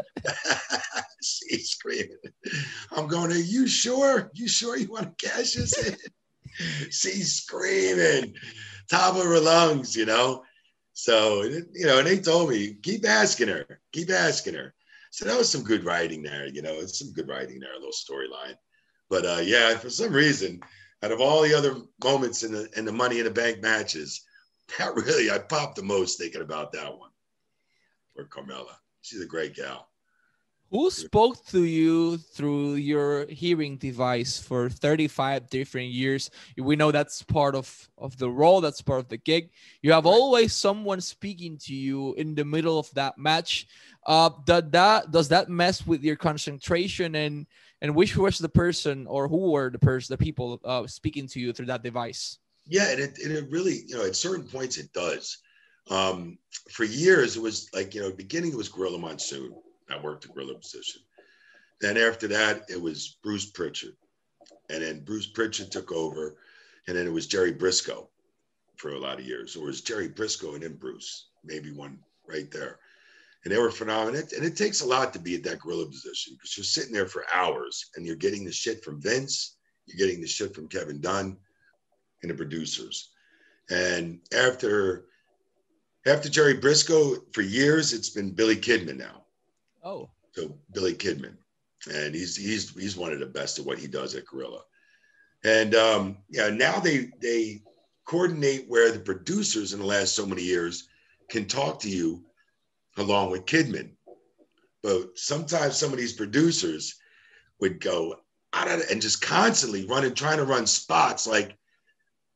She's screaming. I'm going, are you sure? You sure you want to cash this in? She's screaming, top of her lungs, you know? So, you know, and they told me, keep asking her, keep asking her. So that was some good writing there, you know, it's some good writing there, a little storyline. But uh, yeah, for some reason, out of all the other moments in the in the Money in the Bank matches, that really, I popped the most thinking about that one. For Carmella. She's a great gal. Who spoke to you through your hearing device for thirty-five different years? We know that's part of, of the role, that's part of the gig. You have right. always someone speaking to you in the middle of that match. Uh, does that does that mess with your concentration, and and which was the person, or who were the person, the people uh, speaking to you through that device? Yeah, and it, and it really, you know, at certain points it does. Um, for years, it was like, you know, beginning it was Gorilla Monsoon. I worked the Gorilla position. Then after that, it was Bruce Pritchard. And then Bruce Pritchard took over. And then it was Jerry Briscoe for a lot of years. Or it was Jerry Briscoe and then Bruce, maybe one right there. And they were phenomenal. And it takes a lot to be at that Gorilla position, because you're sitting there for hours and you're getting the shit from Vince. You're getting the shit from Kevin Dunn and the producers. And after... After Jerry Briscoe, for years, it's been Billy Kidman now. Oh. So Billy Kidman. And he's he's he's one of the best at what he does at Gorilla. And um, yeah, now they they coordinate where the producers in the last so many years can talk to you along with Kidman. But sometimes some of these producers would go out of and just constantly running, trying to run spots like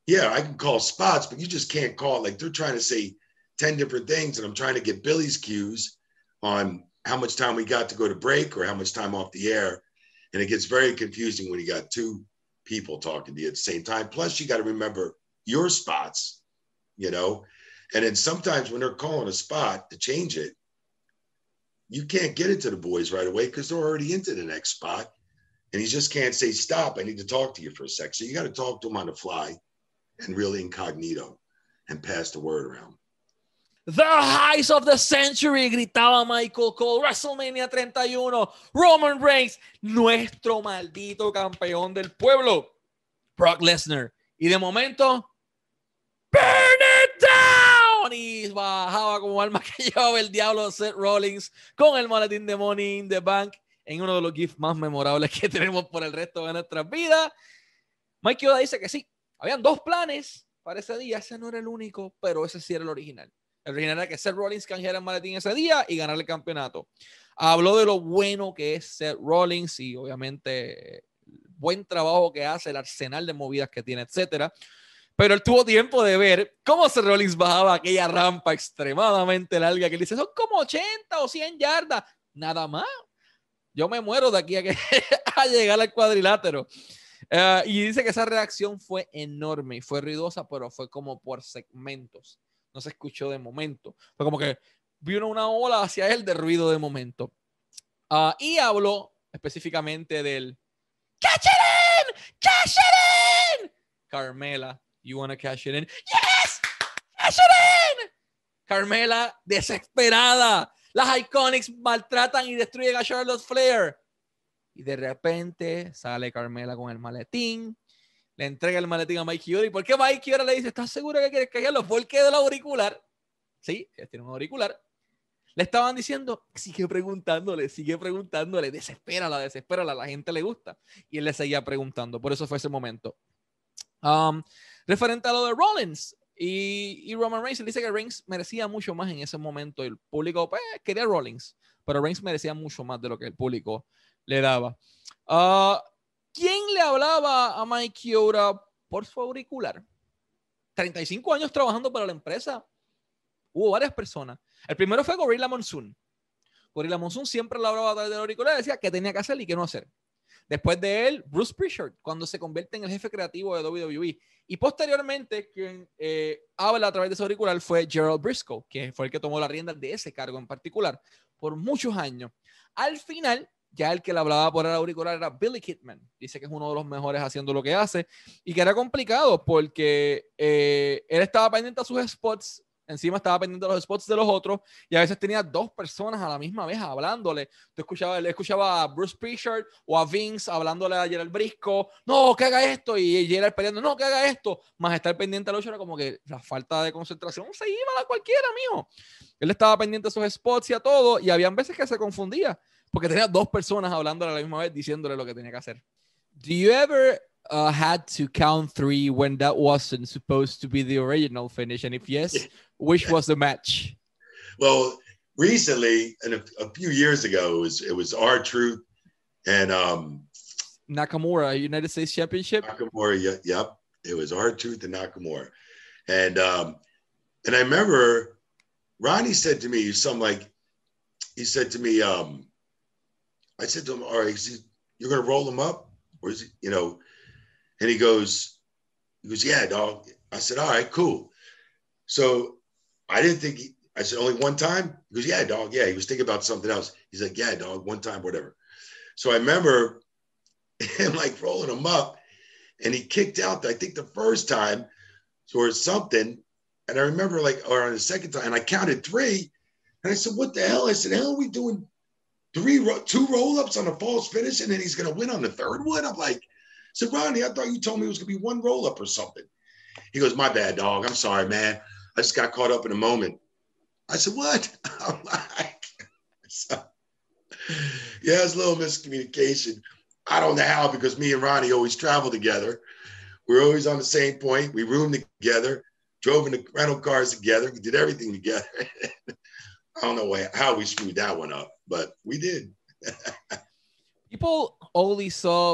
yeah, I can call spots, but you just can't call. Like they're trying to say ten different things, and I'm trying to get Billy's cues on how much time we got to go to break or how much time off the air. And it gets very confusing when you got two people talking to you at the same time. Plus, you got to remember your spots, you know? And then sometimes when they're calling a spot to change it, you can't get it to the boys right away because they're already into the next spot. And you just can't say, stop, I need to talk to you for a sec. So you got to talk to them on the fly and really incognito and pass the word around. The highs of the century, gritaba Michael Cole. WrestleMania treinta y uno, Roman Reigns, nuestro maldito campeón del pueblo, Brock Lesnar. Y de momento, burn it down. Y bajaba como alma que llevaba el diablo Seth Rollins con el maletín de Money in the Bank en uno de los gifs más memorables que tenemos por el resto de nuestras vidas. Mike Yoda dice que sí, habían dos planes para ese día. Ese no era el único, pero ese sí era el original. El original era que Seth Rollins canjeara el maletín ese día y ganar el campeonato. Habló de lo bueno que es Seth Rollins y obviamente el buen trabajo que hace, el arsenal de movidas que tiene, etcétera. Pero él tuvo tiempo de ver cómo Seth Rollins bajaba aquella rampa extremadamente larga que él dice, son como ochenta o cien yardas. Nada más. Yo me muero de aquí a, que, a llegar al cuadrilátero. Uh, y dice que esa reacción fue enorme y fue ruidosa, pero fue como por segmentos. No se escuchó de momento. Fue como que vino una ola hacia él de ruido de momento. Uh, y habló específicamente del Cash it in! Cash it in! Carmela, you wanna cash it in? Yes! Cash it in! Carmela, desesperada. Las Iconics maltratan y destruyen a Charlotte Flair. Y de repente sale Carmela con el maletín. Le entrega el maletín a Mike Yoda. ¿Y por qué Mike Yoda le dice, ¿estás seguro que quieres callarlo? Porque del auricular. Sí, tiene un auricular. Le estaban diciendo, sigue preguntándole, sigue preguntándole. Desespérala, desespérala. A la gente le gusta. Y él le seguía preguntando. Por eso fue ese momento. Um, referente a lo de Rollins y, y Roman Reigns, él dice que Reigns merecía mucho más en ese momento. El público pues, quería Rollins, pero Reigns merecía mucho más de lo que el público le daba. Uh, ¿Quién le hablaba a Mike Yoda por su auricular? treinta y cinco años trabajando para la empresa. Hubo varias personas. El primero fue Gorilla Monsoon. Gorilla Monsoon siempre le hablaba a través del auricular y decía qué tenía que hacer y qué no hacer. Después de él, Bruce Prichard, cuando se convierte en el jefe creativo de W W E. Y posteriormente, quien eh, habla a través de ese auricular fue Gerald Briscoe, que fue el que tomó la rienda de ese cargo en particular por muchos años. Al final, ya el que le hablaba por el auricular era Billy Kidman. Dice que es uno de los mejores haciendo lo que hace y que era complicado porque eh, él estaba pendiente a sus spots, encima estaba pendiente de los spots de los otros y a veces tenía dos personas a la misma vez hablándole. Tú escuchabas, le escuchaba a Bruce Prichard o a Vince hablándole a Gerald Briscoe, no, que haga esto, y Gerald peleando, no, que haga esto, más estar pendiente a los era como que la falta de concentración se iba a cualquiera, mijo. Él estaba pendiente a sus spots y a todo y habían veces que se confundía porque tenía dos personas hablándole a la misma vez diciéndole lo que tenía que hacer. Do you ever uh, had to count three when that wasn't supposed to be the original finish? And if yes, which was the match? Well, recently, and a, a few years ago, it was it was R-Truth and um, Nakamura, United States Championship. Nakamura, yeah, yep. It was R-Truth and Nakamura, and um, and I remember Ronnie said to me something like, he said to me, um, I said to him, all right, he, you're gonna roll him up, or is he, you know? And he goes, he goes, yeah, dog. I said, all right, cool. So I didn't think, he, I said, only one time? He goes, yeah, dog. Yeah, he was thinking about something else. He's like, yeah, dog, one time, whatever. So I remember him like rolling him up and he kicked out, I think the first time or something. And I remember like, or on the second time, and I counted three. And I said, what the hell? I said, hell are we doing three, two roll-ups on a false finish and then he's going to win on the third one? I'm like, I said, Ronnie, I thought you told me it was going to be one roll-up or something. He goes, my bad, dog. I'm sorry, man. I just got caught up in a moment. I said, what? I'm like, so, yeah, it's a little miscommunication. I don't know how, because me and Ronnie always travel together. We're always on the same point. We roomed together, drove in the rental cars together. We did everything together. I don't know why, how we screwed that one up, but we did. People only saw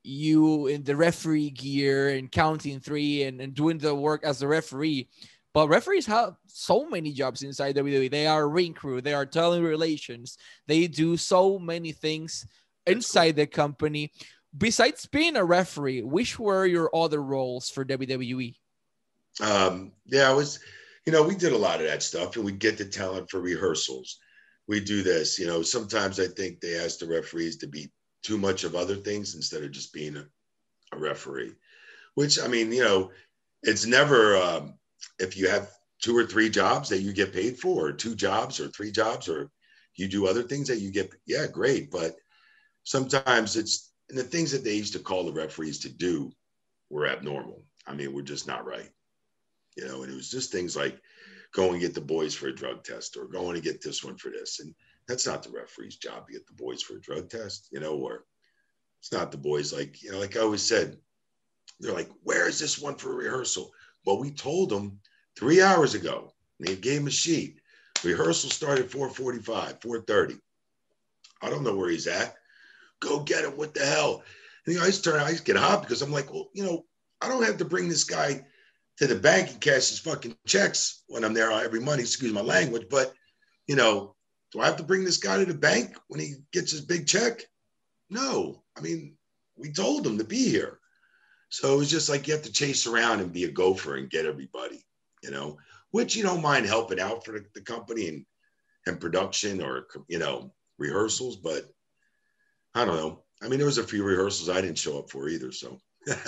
you in the referee gear and counting three and, and doing the work as the referee. But referees have so many jobs inside W W E. They are ring crew. They are talent relations. They do so many things inside the company. Besides being a referee, which were your other roles for W W E? Um, yeah, I was, you know, we did a lot of that stuff, and we get the talent for rehearsals. We do this, you know, sometimes I think they ask the referees to be too much of other things instead of just being a, a referee, which, I mean, you know, it's never, um, if you have two or three jobs that you get paid for, or two jobs or three jobs, or you do other things that you get, yeah, great. But sometimes it's, and the things that they used to call the referees to do were abnormal. I mean, we're just not right. You know, and it was just things like going and get the boys for a drug test, or going to get this one for this. And that's not the referee's job to get the boys for a drug test, you know, or it's not the boys, like, you know, like I always said, they're like, where is this one for rehearsal? Well, we told them three hours ago. They gave him a sheet. Rehearsal started at four forty-five, four thirty. I don't know where he's at. Go get him. What the hell? And you know, I used to turn, I used to get hot because I'm like, well, you know, I don't have to bring this guy to the bank and cash his fucking checks when I'm there every month. Excuse my language, but you know, do I have to bring this guy to the bank when he gets his big check? No. I mean, we told him to be here. So it was just like you have to chase around and be a gopher and get everybody, you know, which you don't mind helping out for the, the company and, and production or, you know, rehearsals. But I don't know. I mean, there was a few rehearsals I didn't show up for either. So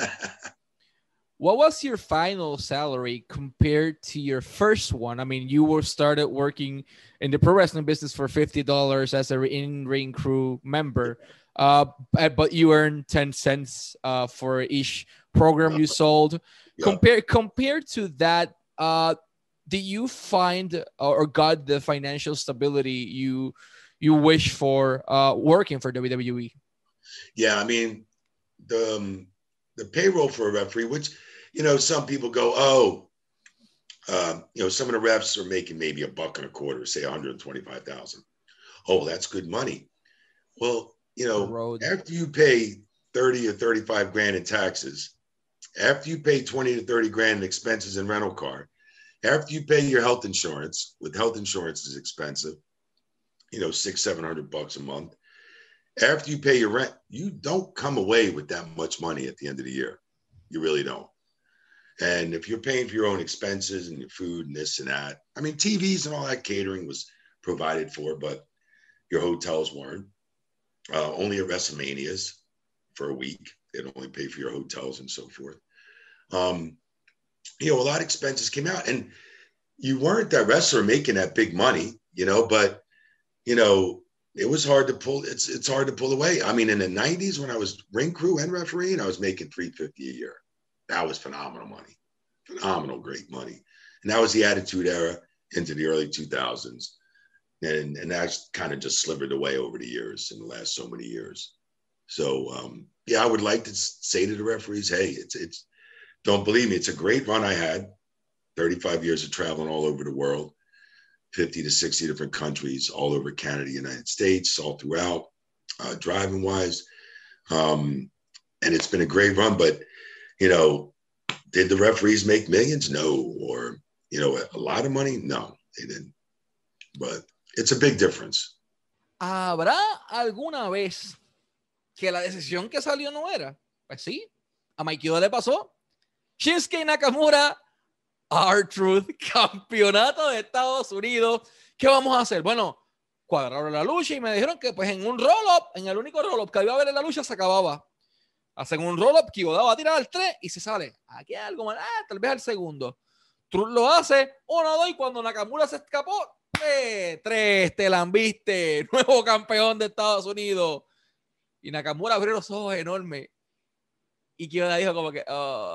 what was your final salary compared to your first one? I mean, you were started working in the pro wrestling business for fifty dollars as a in-ring crew member. Uh, but you earn ten cents uh, for each program you sold. Yeah. Compared compared to that, uh, did you find or got the financial stability you you wish for uh, working for W W E? Yeah, I mean, the um, the payroll for a referee, which, you know, some people go, oh, uh, you know, some of the refs are making maybe a buck and a quarter, say one hundred twenty-five thousand. Oh, that's good money. Well, you know, after you pay thirty or thirty-five grand in taxes, after you pay twenty to thirty grand in expenses and rental car, after you pay your health insurance, with health insurance is expensive, you know, six, seven hundred bucks a month. After you pay your rent, you don't come away with that much money at the end of the year. You really don't. And if you're paying for your own expenses and your food and this and that, I mean, T Vs and all that catering was provided for, but your hotels weren't. Uh, only at WrestleManias for a week. They'd only pay for your hotels and so forth. Um, you know, a lot of expenses came out, and you weren't that wrestler making that big money, you know, but, you know, it was hard to pull. It's it's hard to pull away. I mean, in the nineties when I was ring crew and refereeing, I was making three hundred fifty dollars a year. That was phenomenal money, phenomenal, great money. And that was the Attitude Era into the early two thousands. And, and that's kind of just slivered away over the years in the last so many years. So, um, yeah, I would like to say to the referees, hey, it's, it's, don't believe me. It's a great run I had, thirty-five years of traveling all over the world, fifty to sixty different countries, all over Canada, United States, all throughout, uh, driving wise. Um, and it's been a great run, but, you know, did the referees make millions? No. Or, you know, a lot of money? No, they didn't. But it's a big difference. ¿Habrá alguna vez que la decisión que salió no era? Pues sí, a Maikio le pasó. Shinsuke Nakamura, R-Truth, campeonato de Estados Unidos. ¿Qué vamos a hacer? Bueno, cuadraron la lucha y me dijeron que pues en un roll-up, en el único roll-up que iba a haber en la lucha, se acababa. Hacen un roll-up, Kyoda va a tirar al tres y se sale. Aquí hay algo mal, ah, tal vez al segundo. Truth lo hace, uno, dos, y cuando Nakamura se escapó, tres, tres, te la viste, nuevo campeón de Estados Unidos. Y Nakamura abrió los ojos enormes. Y Kyoda dijo como que,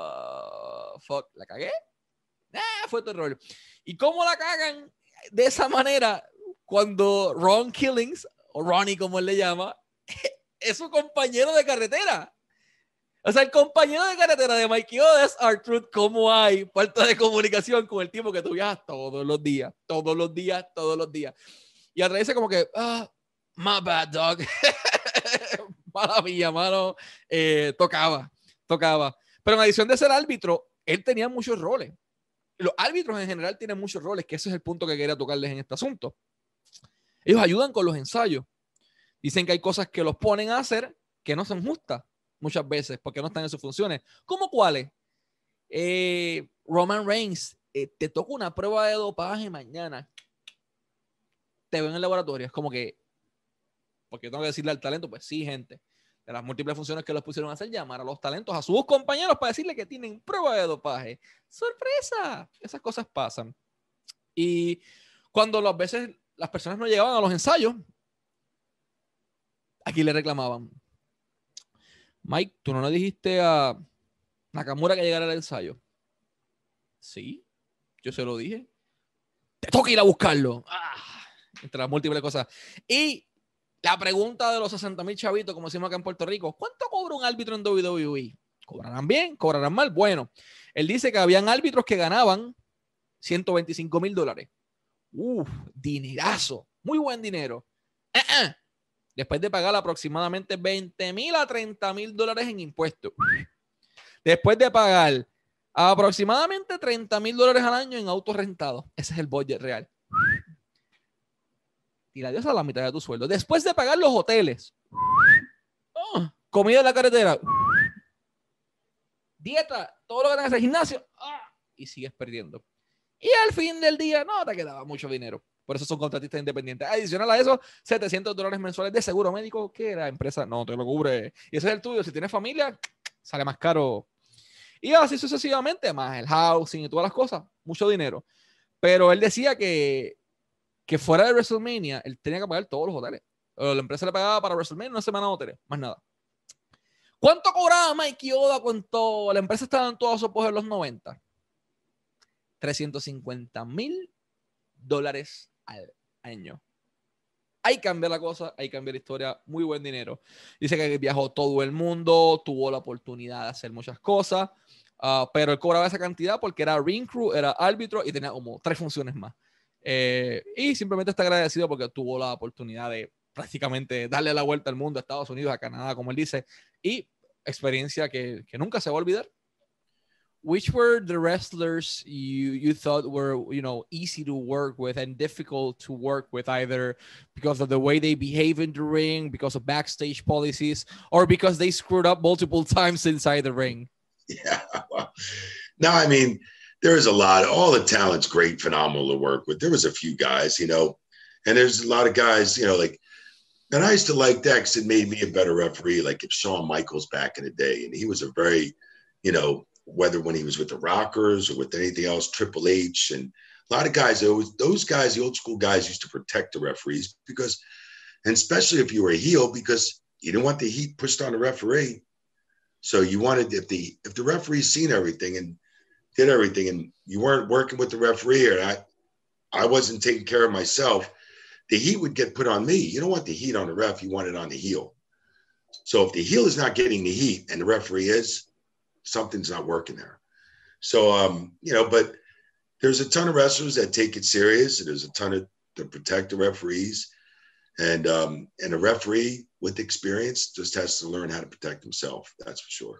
oh, fuck, ¿la cagué? Ah, fue tu error. ¿Y cómo la cagan de esa manera cuando Ron Killings, o Ronnie como él le llama, es su compañero de carretera? O sea, el compañero de carretera de Mikey Oda es R-Truth. ¿Cómo hay falta de comunicación con el tipo que tú viajas todos los días? Todos los días, todos los días. Y a través como que, ah, my bad, dog. mala mía, mano, eh, tocaba, tocaba. Pero en adición de ser árbitro, él tenía muchos roles. Los árbitros en general tienen muchos roles, que ese es el punto que quería tocarles en este asunto. Ellos ayudan con los ensayos. Dicen que hay cosas que los ponen a hacer que no son justas muchas veces porque no están en sus funciones. ¿Cómo cuáles? Eh, Roman Reigns, eh, te toca una prueba de dopaje mañana. Te ven en el laboratorio. Es como que, porque tengo que decirle al talento, pues sí, gente. De las múltiples funciones que los pusieron a hacer, llamar a los talentos, a sus compañeros para decirle que tienen prueba de dopaje. ¡Sorpresa! Esas cosas pasan. Y cuando las veces las personas no llegaban a los ensayos, aquí le reclamaban: Mike, ¿tú no le dijiste a Nakamura que llegara al ensayo? Sí, yo se lo dije. Te toca ir a buscarlo. Ah, entre las múltiples cosas. Y la pregunta de los sesenta mil chavitos, como decimos acá en Puerto Rico: ¿cuánto cobra un árbitro en W W E? ¿Cobrarán bien? ¿Cobrarán mal? Bueno, él dice que habían árbitros que ganaban ciento veinticinco mil dólares. Uf, dinerazo. Muy buen dinero. Uh-uh. Después de pagar aproximadamente veinte mil a treinta mil dólares en impuestos. Después de pagar aproximadamente treinta mil dólares al año en autos rentados. Ese es el budget real. Tira Dios a la mitad de tu sueldo. Después de pagar los hoteles. Oh, comida en la carretera. Dieta, todo lo que tengas en el gimnasio. Oh, y sigues perdiendo. Y al fin del día no te quedaba mucho dinero. Por eso son contratistas independientes. Adicional a eso, setecientos dólares mensuales de seguro médico que la empresa no te lo cubre. Y ese es el tuyo. Si tienes familia, sale más caro. Y así sucesivamente, más el housing y todas las cosas. Mucho dinero. Pero él decía que, que fuera de WrestleMania, él tenía que pagar todos los hoteles. La empresa le pagaba para WrestleMania una semana de hoteles. Más nada. ¿Cuánto cobraba Mikey Oda cuando la empresa estaba en todo su apogeo en los noventa? trescientos cincuenta mil dólares al año. Ahí cambia la cosa, ahí cambia la historia. Muy buen dinero. Dice que viajó todo el mundo, tuvo la oportunidad de hacer muchas cosas, uh, pero él cobraba esa cantidad porque era ring crew, era árbitro y tenía como tres funciones más. Eh, y simplemente está agradecido porque tuvo la oportunidad de prácticamente darle la vuelta al mundo, a Estados Unidos, a Canadá, como él dice, y experiencia que, que nunca se va a olvidar. Which were the wrestlers you you thought were, you know, easy to work with and difficult to work with, either because of the way they behave in the ring, because of backstage policies, or because they screwed up multiple times inside the ring? Yeah. Well, no, I mean, there is a lot. All the talent's great, phenomenal to work with. There was a few guys, you know, and there's a lot of guys, you know, like, and I used to like that because it made me a better referee. Like if Shawn Michaels back in the day, and he was a very, you know, whether when he was with the Rockers or with anything else, Triple H, and a lot of guys, those, those guys, the old school guys used to protect the referees because, and especially if you were a heel, because you didn't want the heat pushed on the referee. So you wanted, if the, if the referee's seen everything and did everything and you weren't working with the referee or I, I wasn't taking care of myself, the heat would get put on me. You don't want the heat on the ref. You want it on the heel. So if the heel is not getting the heat and the referee is, something's not working there. So, um, you know, but there's a ton of wrestlers that take it serious. There's a ton of to protect the referees, and um, and a referee with experience just has to learn how to protect himself. That's for sure.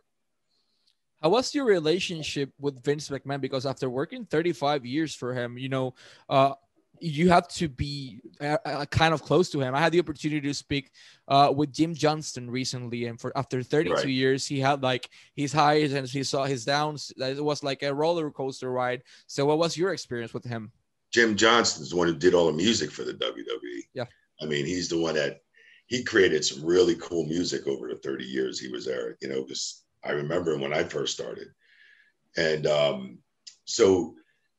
How was your relationship with Vince McMahon? Because after working thirty-five years for him, you know, uh, you have to be uh, uh, kind of close to him. I had the opportunity to speak uh, with Jim Johnston recently, and for after thirty-two right. years, he had like his highs and he saw his downs. It was like a roller coaster ride. So, what was your experience with him? Jim Johnston's the one who did all the music for the W W E. Yeah, I mean, he's the one that he created some really cool music over the thirty years he was there. You know, because I remember when I first started, and um, so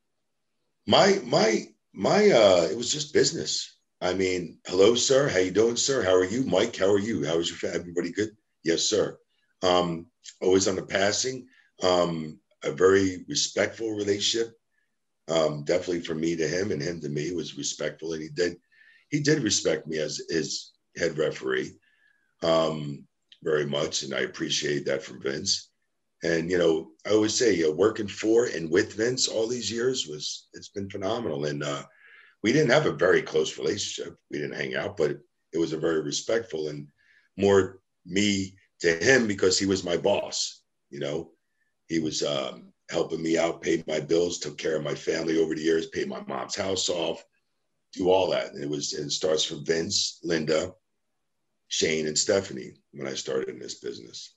my my. My, uh, it was just business. I mean, hello, sir. How you doing, sir? How are you? Mike, how are you? How is your family? Everybody good? Yes, sir. Um, always on the passing. Um, a very respectful relationship. Um, definitely from me to him and him to me was respectful. And he did, he did respect me as his head referee um, very much. And I appreciate that from Vince. And, you know, I always say uh, working for and with Vince all these years was, it's been phenomenal. And uh, we didn't have a very close relationship. We didn't hang out, but it, it was a very respectful and more me to him because he was my boss. You know, he was um, helping me out, paid my bills, took care of my family over the years, paid my mom's house off, do all that. And it was, and it starts from Vince, Linda, Shane, and Stephanie when I started in this business.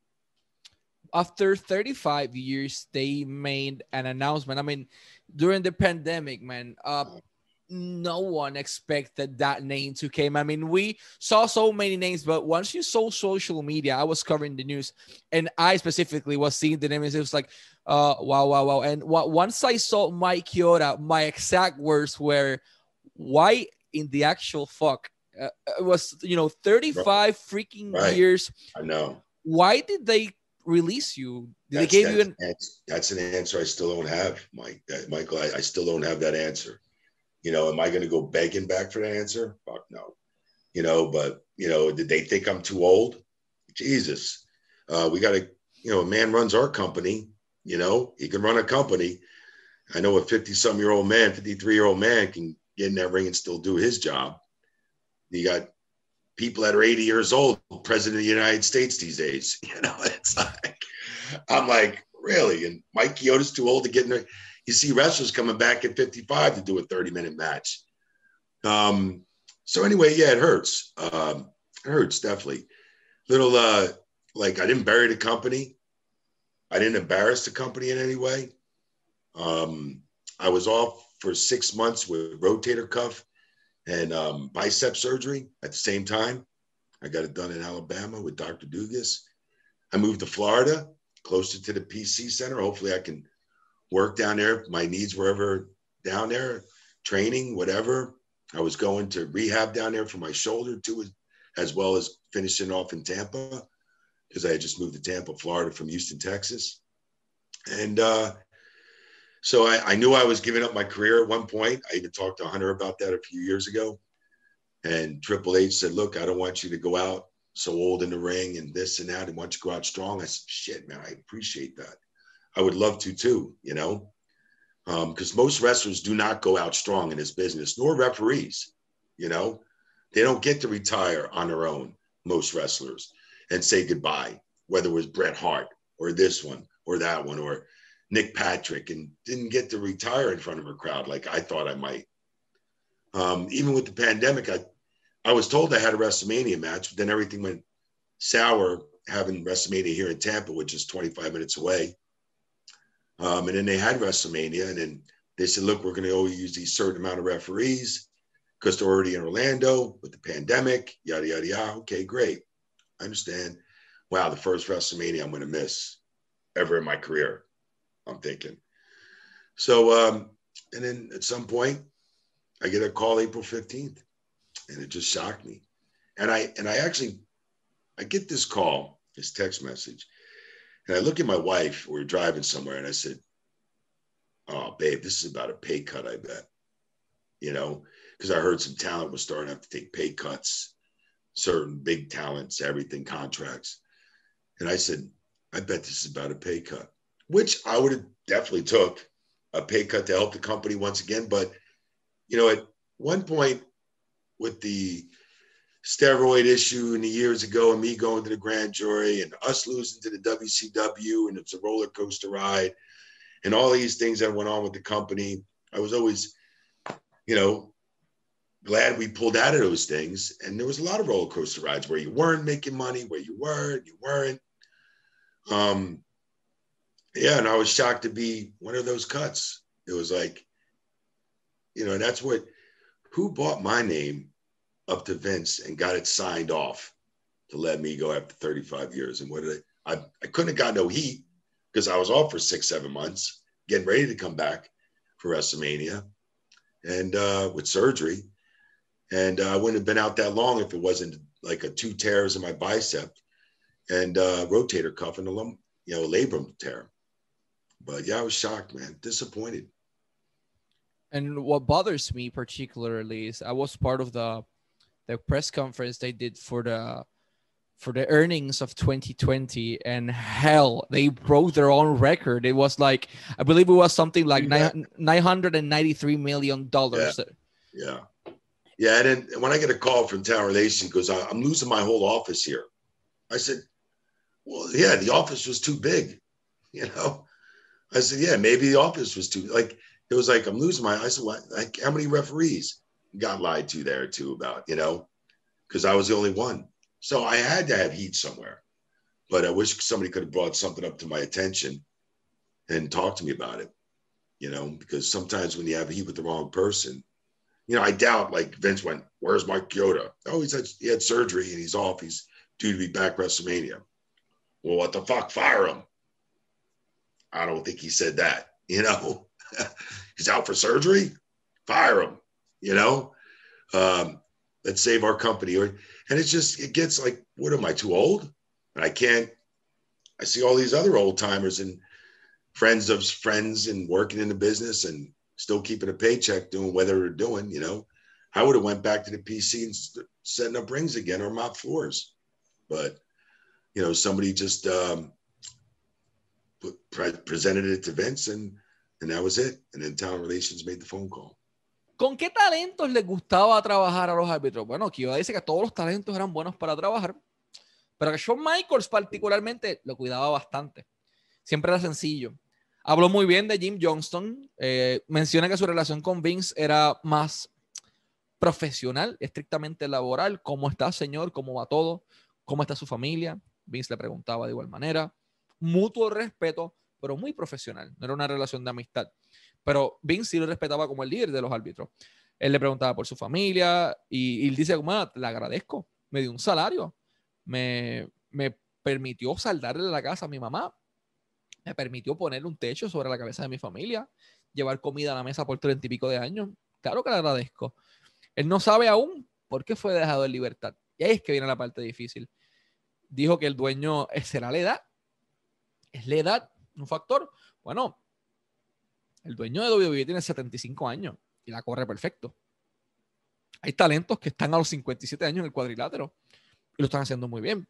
After thirty-five years, they made an announcement. I mean, during the pandemic, man, uh, no one expected that name to come. I mean, we saw so many names, but once you saw social media, I was covering the news, and I specifically was seeing the names. It was like, uh, wow, wow, wow. And what, once I saw Mike Chioda, my exact words were, why in the actual fuck? Uh, it was, you know, thirty-five freaking right. years. I know. Why did they release you? Did that's, they give that's, you an... that's, that's an answer I still don't have, Mike. That, Michael, I, I still don't have that answer. You know, am I going to go begging back for that answer? Fuck no. You know, but, you know, did they think I'm too old? Jesus. Uh, we got to, you know, a man runs our company, you know, he can run a company. I know a fifty-some-year-old man, fifty-three-year-old man can get in that ring and still do his job. You got people that are eighty years old, president of the United States these days. You know, it's like, I'm like, really? And Mike Chioda's too old to get in there. You see wrestlers coming back at fifty-five to do a thirty-minute match. Um, so anyway, yeah, it hurts. Um, it hurts, definitely. Little, uh, like, I didn't bury the company. I didn't embarrass the company in any way. Um, I was off for six months with rotator cuff and um, bicep surgery at the same time. I got it done in Alabama with Doctor Dugas. I moved to Florida, closer to the P C Center. Hopefully I can work down there. My needs were ever down there, training, whatever. I was going to rehab down there for my shoulder too, as well as finishing off in Tampa, because I had just moved to Tampa, Florida from Houston, Texas. And uh, so I, I knew I was giving up my career at one point. I even talked to Hunter about that a few years ago. And Triple H said, look, I don't want you to go out so old in the ring and this and that. I want you to go out strong. I said, shit, man, I appreciate that. I would love to too, you know, because um, most wrestlers do not go out strong in this business, nor referees, you know. They don't get to retire on their own, most wrestlers, and say goodbye, whether it was Bret Hart or this one or that one or Nick Patrick, and didn't get to retire in front of a crowd like I thought I might. Um, even with the pandemic, I, I was told I had a WrestleMania match, but then everything went sour having WrestleMania here in Tampa, which is twenty-five minutes away. Um, and then they had WrestleMania, and then they said, look, we're going to only use these certain amount of referees because they're already in Orlando with the pandemic, yada, yada, yada. Okay, great. I understand. Wow, the first WrestleMania I'm going to miss ever in my career, I'm thinking. So, um, and then at some point, I get a call April fifteenth, and it just shocked me. And I, and I actually, I get this call, this text message, and I look at my wife, we we're driving somewhere, and I said, oh, babe, this is about a pay cut, I bet. You know, because I heard some talent was starting to have to take pay cuts, certain big talents, everything, contracts. And I said, I bet this is about a pay cut, which I would have definitely took a pay cut to help the company once again. But, you know, at one point with the steroid issue in the years ago and me going to the grand jury and us losing to the W C W, and it's a roller coaster ride and all these things that went on with the company, I was always, you know, glad we pulled out of those things. And there was a lot of roller coaster rides where you weren't making money, where you were, you weren't. Um, yeah, and I was shocked to be one of those cuts. It was like, you know, and that's what, who bought my name up to Vince and got it signed off to let me go after thirty-five years. And what did I, I, I couldn't have got no heat because I was off for six, seven months, getting ready to come back for WrestleMania and uh, with surgery. And uh, I wouldn't have been out that long if it wasn't like a two tears in my bicep and uh, rotator cuff and a lum, you know, labrum tear. But yeah, I was shocked, man, disappointed. And what bothers me particularly is I was part of the the press conference they did for the for the earnings of twenty twenty, and hell, they broke their own record. It was like, I believe it was something like nine hundred ninety-three million dollars. Yeah. yeah. Yeah. And then when I get a call from Tower Relation, because I'm losing my whole office here. I said, well, yeah, the office was too big, you know? I said, yeah, maybe the office was too, like, it was like, I'm losing my, I said, what, like, how many referees got lied to there too about, you know? Because I was the only one. So I had to have heat somewhere. But I wish somebody could have brought something up to my attention and talked to me about it, you know, because sometimes when you have heat with the wrong person, you know, I doubt, like, Vince went, where's Mike Chioda? Oh, he's had, he had surgery and he's off. He's due to be back WrestleMania. Well, what the fuck? Fire him. I don't think he said that, you know. He's out for surgery. Fire him, you know. Um, let's save our company. Or, and it's just, it gets like, what am I, too old? And I can't, I see all these other old timers and friends of friends and working in the business and still keeping a paycheck doing whatever they're doing, you know. I would have went back to the P C and st- setting up rings again or mop floors. But, you know, somebody just um, put, pre- presented it to Vince and, and that was it. And then Talent Relations made the phone call. ¿Con qué talentos les gustaba trabajar a los árbitros? Bueno, Chioda dice que todos los talentos eran buenos para trabajar, pero que Shawn Michaels particularmente lo cuidaba bastante. Siempre era sencillo. Habló muy bien de Jim Johnston. Eh, menciona que su relación con Vince era más profesional, estrictamente laboral. ¿Cómo está, señor? ¿Cómo va todo? ¿Cómo está su familia? Vince le preguntaba de igual manera. Mutuo respeto, pero muy profesional. No era una relación de amistad. Pero Vince sí lo respetaba como el líder de los árbitros. Él le preguntaba por su familia y, y él dice, como, le agradezco. Me dio un salario. Me, me permitió saldarle la casa a mi mamá. Me permitió ponerle un techo sobre la cabeza de mi familia. Llevar comida a la mesa por treinta y pico de años. Claro que le agradezco. Él no sabe aún por qué fue dejado en libertad. Y ahí es que viene la parte difícil. Dijo que el dueño será la edad. ¿Es la edad un factor? Bueno, el dueño de W W E tiene setenta y cinco años y la corre perfecto. Hay talentos que están a los cincuenta y siete años en el cuadrilátero y lo están haciendo muy bien.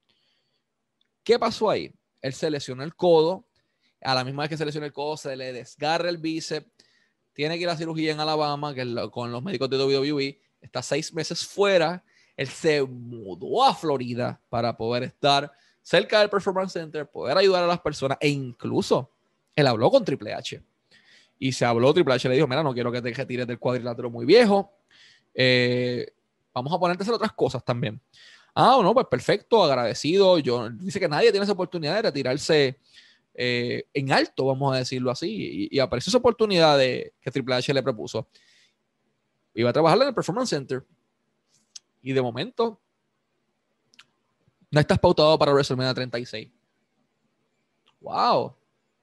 ¿Qué pasó ahí? Él se lesionó el codo. A la misma vez que se lesionó el codo, se le desgarra el bíceps. Tiene que ir a cirugía en Alabama, que es con los médicos de W W E. Está seis meses fuera. Él se mudó a Florida para poder estar cerca del Performance Center, poder ayudar a las personas. E incluso él habló con Triple H. Y se habló, Triple H le dijo, mira, no quiero que te retires del cuadrilátero muy viejo. Eh, vamos a ponerte a hacer otras cosas también. Ah, no, pues perfecto, agradecido. Yo, dice que nadie tiene esa oportunidad de retirarse eh, en alto, vamos a decirlo así. Y, y apareció esa oportunidad de, que Triple H le propuso. Iba a trabajar en el Performance Center. Y de momento, no estás pautado para WrestleMania treinta y seis. ¡Wow!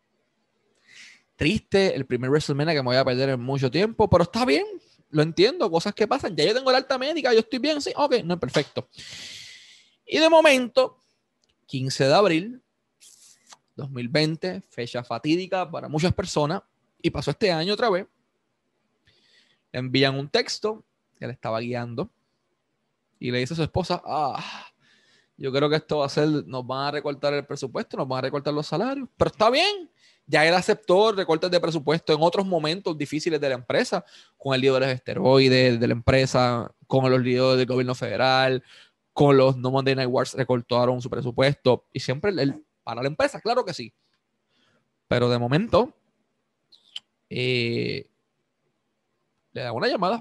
Triste, el primer WrestleMania que me voy a perder en mucho tiempo, pero está bien, lo entiendo, cosas que pasan. Ya yo tengo la alta médica, yo estoy bien, sí, ok, no es perfecto. Y de momento, quince de abril dos mil veinte, fecha fatídica para muchas personas, y pasó este año otra vez. Le envían un texto que le estaba guiando y le dice a su esposa, ah, yo creo que esto va a ser, nos van a recortar el presupuesto, nos van a recortar los salarios, pero está bien. Ya él aceptó recortes de presupuesto en otros momentos difíciles de la empresa, con el lío de los esteroides de la empresa, con los líos del gobierno federal, con los No Monday Night Wars recortaron su presupuesto y siempre él, para la empresa, claro que sí. Pero de momento eh, le da una llamada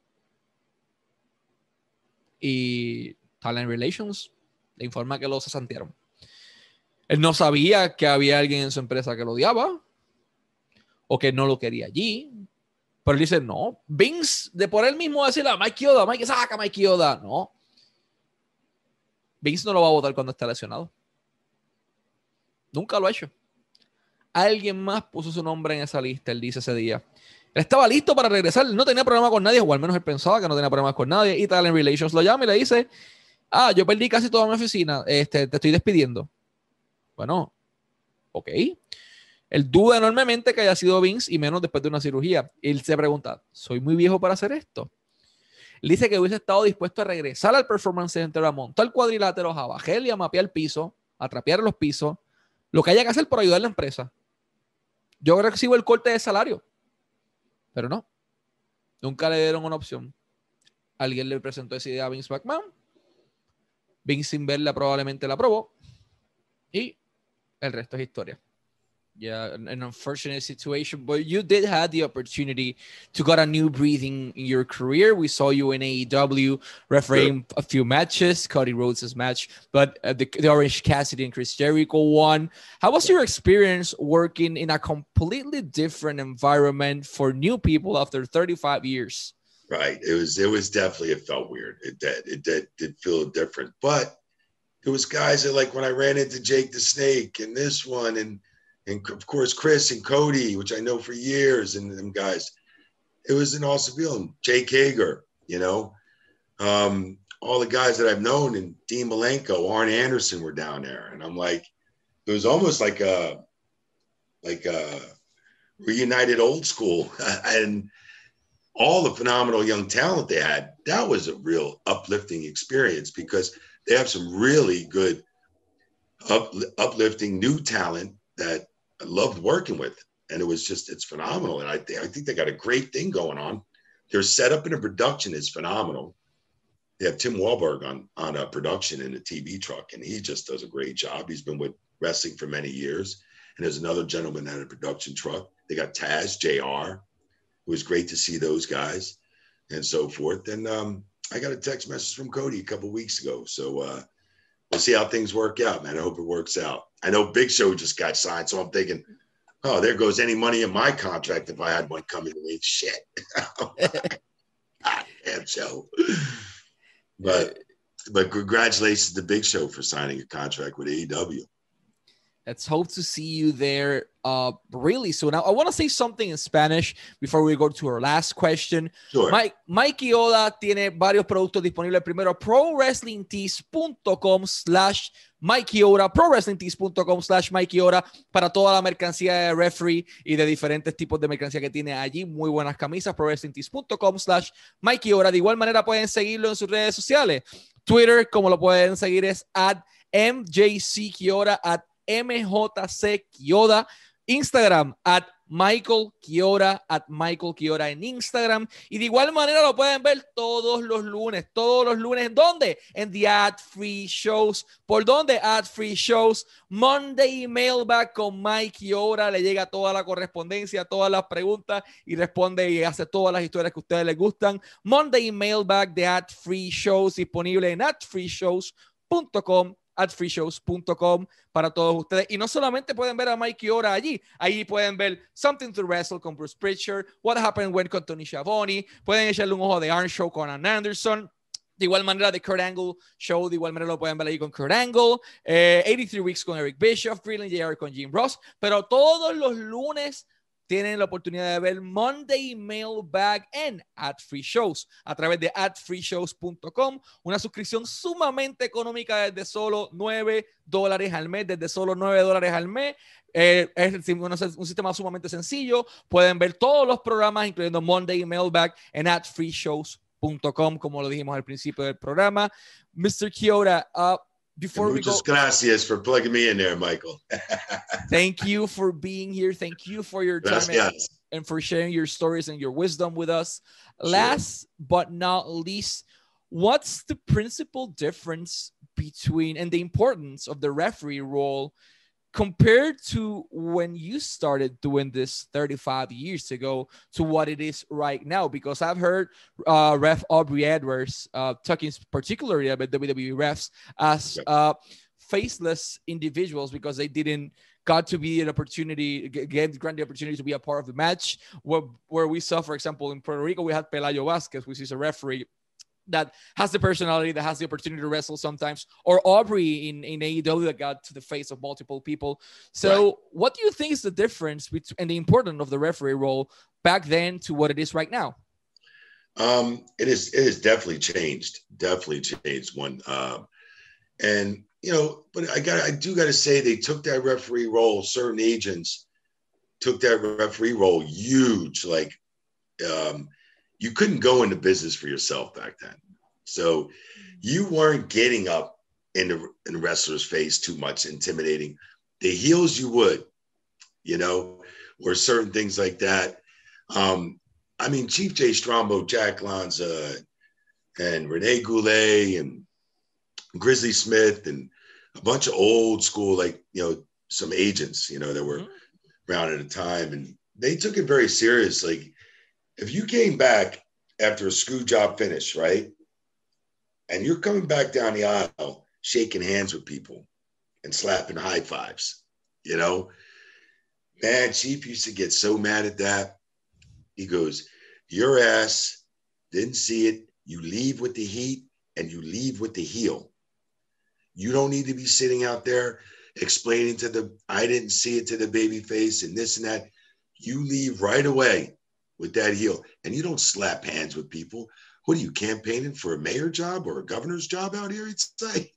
y Talent Relations le informa que lo cesantearon. Él no sabía que había alguien en su empresa que lo odiaba o que no lo quería allí. Pero él dice, no, Vince, de por él mismo decirle a Mike Chioda, Mike, saca a Mike Chioda. No. Vince no lo va a votar cuando esté lesionado. Nunca lo ha hecho. Alguien más puso su nombre en esa lista, él dice ese día. Él estaba listo para regresar, no tenía problema con nadie, o al menos él pensaba que no tenía problemas con nadie. Y Talent Relations lo llama y le dice, ah, yo perdí casi toda mi oficina, este, te estoy despidiendo. Bueno, ok. Él duda enormemente que haya sido Vince y menos después de una cirugía. Él se pregunta, ¿soy muy viejo para hacer esto? Él dice que hubiese estado dispuesto a regresar al Performance Center, a montar cuadriláteros, a bajar y a mapear el piso, a trapear los pisos, lo que haya que hacer por ayudar a la empresa. Yo recibo el corte de salario, pero no. Nunca le dieron una opción. Alguien le presentó esa idea a Vince McMahon Vince Inverla probablemente la probó y el resto es historia. Yeah, an, an unfortunate situation, but you did have the opportunity to get a new breathing in your career. We saw you in A E W refereeing a few matches, Cody Rhodes' match, but uh, the, the Orange Cassidy and Chris Jericho one. How was your experience working in a completely different environment for new people after thirty-five years? Right. It was, it was definitely, it felt weird. It did, it did, did feel different, but it was guys that, like when I ran into Jake the Snake and this one, and, and of course, Chris and Cody, which I know for years, and them guys, it was an awesome feeling. Jake Hager, you know, um, all the guys that I've known, and Dean Malenko, Arn Anderson were down there. And I'm like, it was almost like a, like a reunited old school. And all the phenomenal young talent they had, that was a real uplifting experience, because they have some really good up, uplifting new talent that I loved working with. And it was just, it's phenomenal. And I, th- I think they got a great thing going on. Their setup and the production is phenomenal. They have Tim Wahlberg on, on a production in a T V truck, and he just does a great job. He's been with wrestling for many years. And there's another gentleman at a production truck. They got Taz, J R. It was great to see those guys and so forth. And um, I got a text message from Cody a couple of weeks ago. So uh, we'll see how things work out, man. I hope it works out. I know Big Show just got signed, so I'm thinking, oh, there goes any money in my contract if I had one coming to me. Shit. God damn Show. But, but congratulations to Big Show for signing a contract with A E W. Let's hope to see you there uh, really soon. Now, I want to say something in Spanish before we go to our last question. Sure. Mike, Mikey Oda tiene varios productos disponibles. Primero, prowrestlingtees.com slash Mikey Oda, prowrestlingtees.com slash Mikey Oda, para toda la mercancía de referee y de diferentes tipos de mercancía que tiene allí. Muy buenas camisas, prowrestlingtees.com slash Mikey Oda. De igual manera pueden seguirlo en sus redes sociales. Twitter, como lo pueden seguir, es at M J C Quiora, at M J C Quiora. Instagram at Michael Quiora, at Michael Quiora en Instagram. Y de igual manera lo pueden ver todos los lunes, todos los lunes. ¿En dónde? En The Ad Free Shows. ¿Por dónde? Ad Free Shows. Monday Mailbag con Mike Quiora. Le llega toda la correspondencia, todas las preguntas y responde y hace todas las historias que a ustedes les gustan. Monday Mailbag de Ad Free Shows, disponible en ad free shows punto com. at free shows punto com para todos ustedes. Y no solamente pueden ver a Mike Quiora allí, ahí pueden ver Something to Wrestle con Bruce Pritchard, What Happened When con Tony Schiavone, pueden echarle un ojo de Arn Show con Arn Anderson, de igual manera de Kurt Angle Show, de igual manera lo pueden ver ahí con Kurt Angle, eh, ochenta y tres Weeks con Eric Bischoff, Brilliant J R con Jim Ross, pero todos los lunes tienen la oportunidad de ver Monday Mailbag en Ad Free Shows a través de ad free shows punto com, una suscripción sumamente económica desde solo nueve dólares al mes, desde solo nueve dólares al mes. Eh, es un sistema sumamente sencillo. Pueden ver todos los programas, incluyendo Monday Mailbag, en ad free shows punto com, como lo dijimos al principio del programa. mister Quiora, uh, Before we go, gracias for plugging me in there, Michael. Thank you for being here. Thank you for your time and, and for sharing your stories and your wisdom with us. Sure. Last but not least, what's the principal difference between and the importance of the referee role compared to when you started doing this thirty-five years ago to what it is right now? Because I've heard uh, Ref Aubrey Edwards uh, talking particularly about W W E refs as uh, faceless individuals because they didn't got to be an opportunity, get granted the opportunity to be a part of the match. Where, where we saw, for example, in Puerto Rico, we had Pelayo Vasquez, which is a referee that has the personality, that has the opportunity to wrestle sometimes, or Aubrey in, in A E W that got to the face of multiple people. So right. What do you think is the difference between and the importance of the referee role back then to what it is right now? Um, it is, it has definitely changed, definitely changed one. Um, and, you know, but I got, I do got to say they took that referee role. Certain agents took that referee role huge. Like, um, you couldn't go into business for yourself back then. So you weren't getting up in the, in the wrestler's face too much, intimidating. The heels you would, you know, or certain things like that. Um, I mean, Chief Jay Strongbow, Jack Lanza, and Rene Goulet, and Grizzly Smith and a bunch of old school, like, you know, some agents, you know, that were mm-hmm. around at a time. And they took it very serious. Like, if you came back after a screw job finish, right? And you're coming back down the aisle, shaking hands with people and slapping high fives, you know? Man, Chief used to get so mad at that. He goes, your ass didn't see it. You leave with the heat and you leave with the heel. You don't need to be sitting out there explaining to the, I didn't see it, to the baby face and this and that. You leave right away with that heel, and you don't slap hands with people. What are you, campaigning for a mayor job or a governor's job out here? He'd say,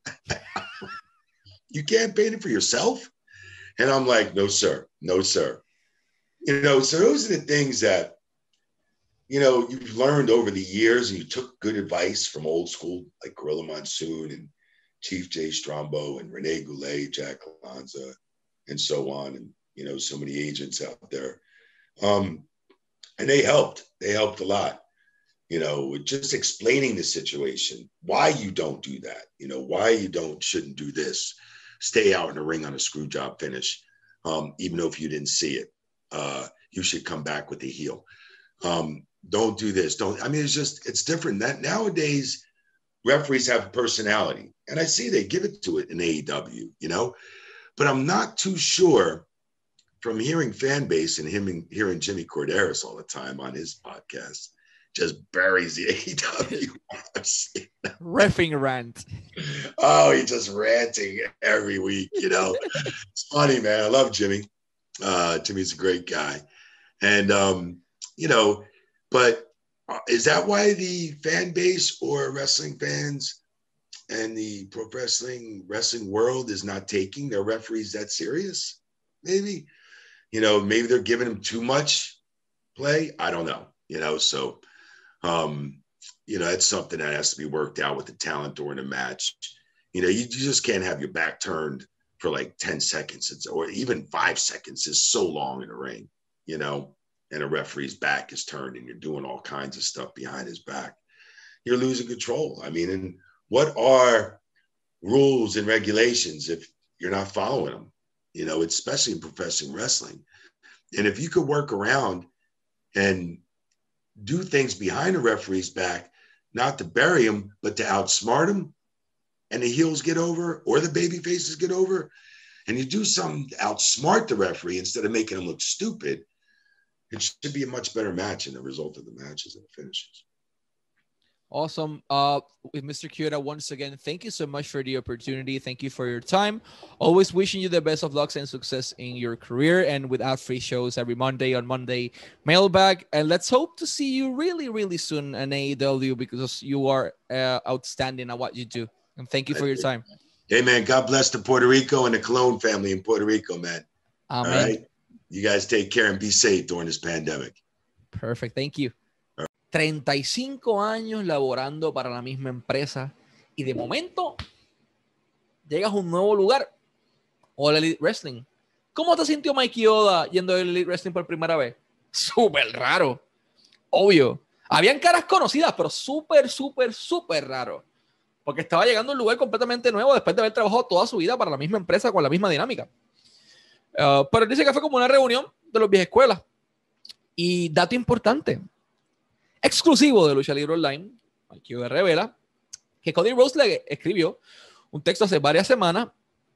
you campaigning for yourself? And I'm like, no, sir. No, sir. You know, so those are the things that, you know, you've learned over the years, and you took good advice from old school, like Gorilla Monsoon and Chief Jay Strombo and Rene Goulet, Jack Lanza, and so on. And, you know, so many agents out there. Um, and they helped. They helped a lot, you know, with just explaining the situation, why you don't do that, you know, why you don't, shouldn't do this, stay out in the ring on a screw job finish, um, even though if you didn't see it, uh, you should come back with the heel. Um, don't do this. Don't, I mean, it's just, it's different. That nowadays referees have a personality, and I see they give it to it in A E W, you know, but I'm not too sure from hearing fan base and him and hearing Jimmy Corderas all the time on his podcast, just buries the A E W. Reffing rant. Oh, he's just ranting every week, you know. It's funny, man. I love Jimmy. Uh, Jimmy's a great guy. And, um, you know, but is that why the fan base or wrestling fans and the pro wrestling wrestling world is not taking their referees that serious? Maybe. You know, maybe they're giving them too much play. I don't know, you know, so, um, you know, it's something that has to be worked out with the talent during a match. You know, you, you just can't have your back turned for like ten seconds it's, or even five seconds is so long in the ring, you know, and a referee's back is turned and you're doing all kinds of stuff behind his back. You're losing control. I mean, and what are rules and regulations if you're not following them? You know, especially in professional wrestling. And if you could work around and do things behind the referee's back, not to bury him, but to outsmart him, and the heels get over or the baby faces get over, and you do something to outsmart the referee instead of making him look stupid, it should be a much better match in the result of the matches and the finishes. Awesome. Uh, with Mister Chioda, once again, thank you so much for the opportunity. Thank you for your time. Always wishing you the best of luck and success in your career, and with our free shows every Monday on Monday Mailbag. And let's hope to see you really, really soon in A E W, because you are uh, outstanding at what you do. And thank you for your time. Hey, man, God bless the Puerto Rico and the Colon family in Puerto Rico, man. Amen. All right. You guys take care and be safe during this pandemic. Perfect. Thank you. treinta y cinco años laborando para la misma empresa y de momento llegas a un nuevo lugar, All Elite Wrestling. ¿Cómo te sintió Mikey Oda yendo a All Elite Wrestling por primera vez? Súper raro, obvio. Habían caras conocidas, pero súper, súper, súper raro, porque estaba llegando a un lugar completamente nuevo después de haber trabajado toda su vida para la misma empresa con la misma dinámica. Uh, pero dice que fue como una reunión de los viejas escuelas. Y dato importante, exclusivo de Lucha Libre Online, Mikey Oda revela que Cody Rhodes le escribió un texto hace varias semanas.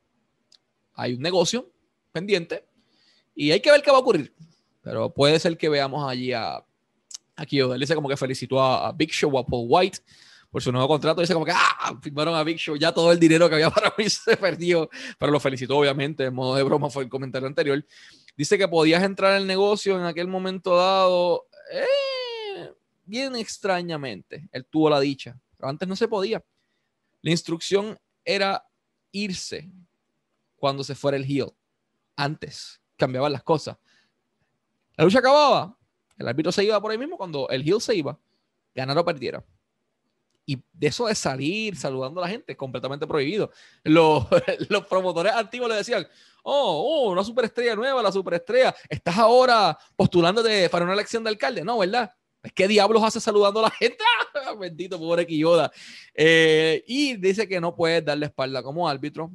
Hay un negocio pendiente y hay que ver qué va a ocurrir, pero puede ser que veamos allí a aquí Oda. Él dice como que felicitó a, a Big Show, a Paul White por su nuevo contrato. Dice como que ah, firmaron a Big Show, ya todo el dinero que había para mí se perdió, pero lo felicitó obviamente, en modo de broma fue el comentario anterior. Dice que podías entrar al negocio en aquel momento dado eh, bien extrañamente. Él tuvo la dicha, pero antes no se podía. La instrucción era irse cuando se fuera el heel. Antes cambiaban las cosas. La lucha acababa, el árbitro se iba por ahí mismo. Cuando el heel se iba, ganara o perdiera. Y de eso de salir saludando a la gente, completamente prohibido. Los, los promotores antiguos le decían, oh, oh, una superestrella nueva, la superestrella, ¿estás ahora postulándote para una elección de alcalde? No, ¿verdad? ¿Qué diablos hace saludando a la gente? Bendito, pobre Kiyoda. Eh, y dice que no puedes darle espalda como árbitro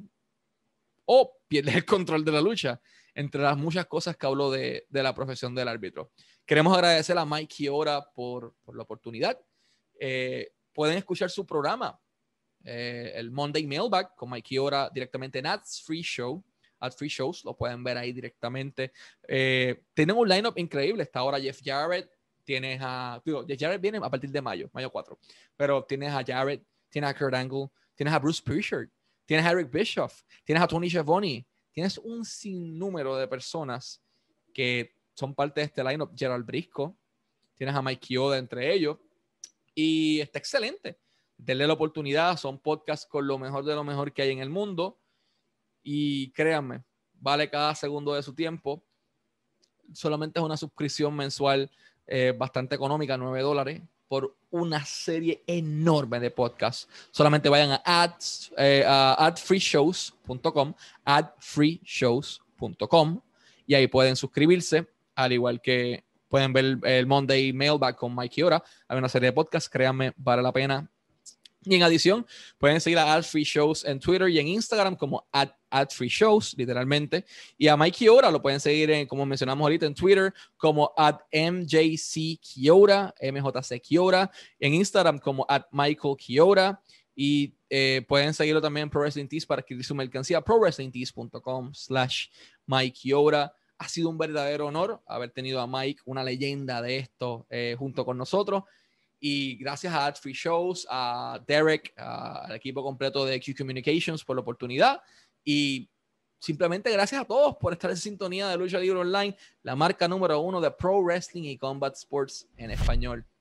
o pierdes el control de la lucha, entre las muchas cosas que habló de, de la profesión del árbitro. Queremos agradecer a Mike Chioda por, por la oportunidad. Eh, pueden escuchar su programa, eh, el Monday Mailbag, con Mike Chioda directamente en Ads Free Show. Ads Free Shows, lo pueden ver ahí directamente. Eh, tienen un lineup increíble. Está ahora Jeff Jarrett. Tienes a... Digo, Jeff Jarrett viene a partir de mayo, mayo cuatro. Pero tienes a Jarrett, tienes a Kurt Angle, tienes a Bruce Prichard, tienes a Eric Bischoff, tienes a Tony Schiavone. Tienes un sinnúmero de personas que son parte de este lineup. Gerald Brisco, tienes a Mike Chioda entre ellos, y está excelente. Denle la oportunidad, son podcasts con lo mejor de lo mejor que hay en el mundo, y créanme, vale cada segundo de su tiempo. Solamente es una suscripción mensual eh, bastante económica, nueve dólares, por una serie enorme de podcasts. Solamente vayan a, ads, eh, a ad free shows punto com, ad free shows punto com, y ahí pueden suscribirse, al igual que pueden ver el, el Monday Mailbag con Mike Chioda. Hay una serie de podcasts, créanme, vale la pena. Y en adición, pueden seguir a Ad Free Shows en Twitter y en Instagram como Ad, Ad Free Shows, literalmente. Y a Mike Chioda lo pueden seguir, en, como mencionamos ahorita, en Twitter como Ad M J C Chioda, M J C Chioda, en Instagram como Ad Michael Chioda. Y eh, pueden seguirlo también en Pro Wrestling Tees para adquirir su mercancía, pro wrestling tees punto com slash Mike Chioda. Ha sido un verdadero honor haber tenido a Mike, una leyenda de esto, eh, junto con nosotros. Y gracias a Ad Free Shows, a Derek, a, al equipo completo de Q Communications por la oportunidad. Y simplemente gracias a todos por estar en sintonía de Lucha Libre Online, la marca número uno de Pro Wrestling y Combat Sports en español.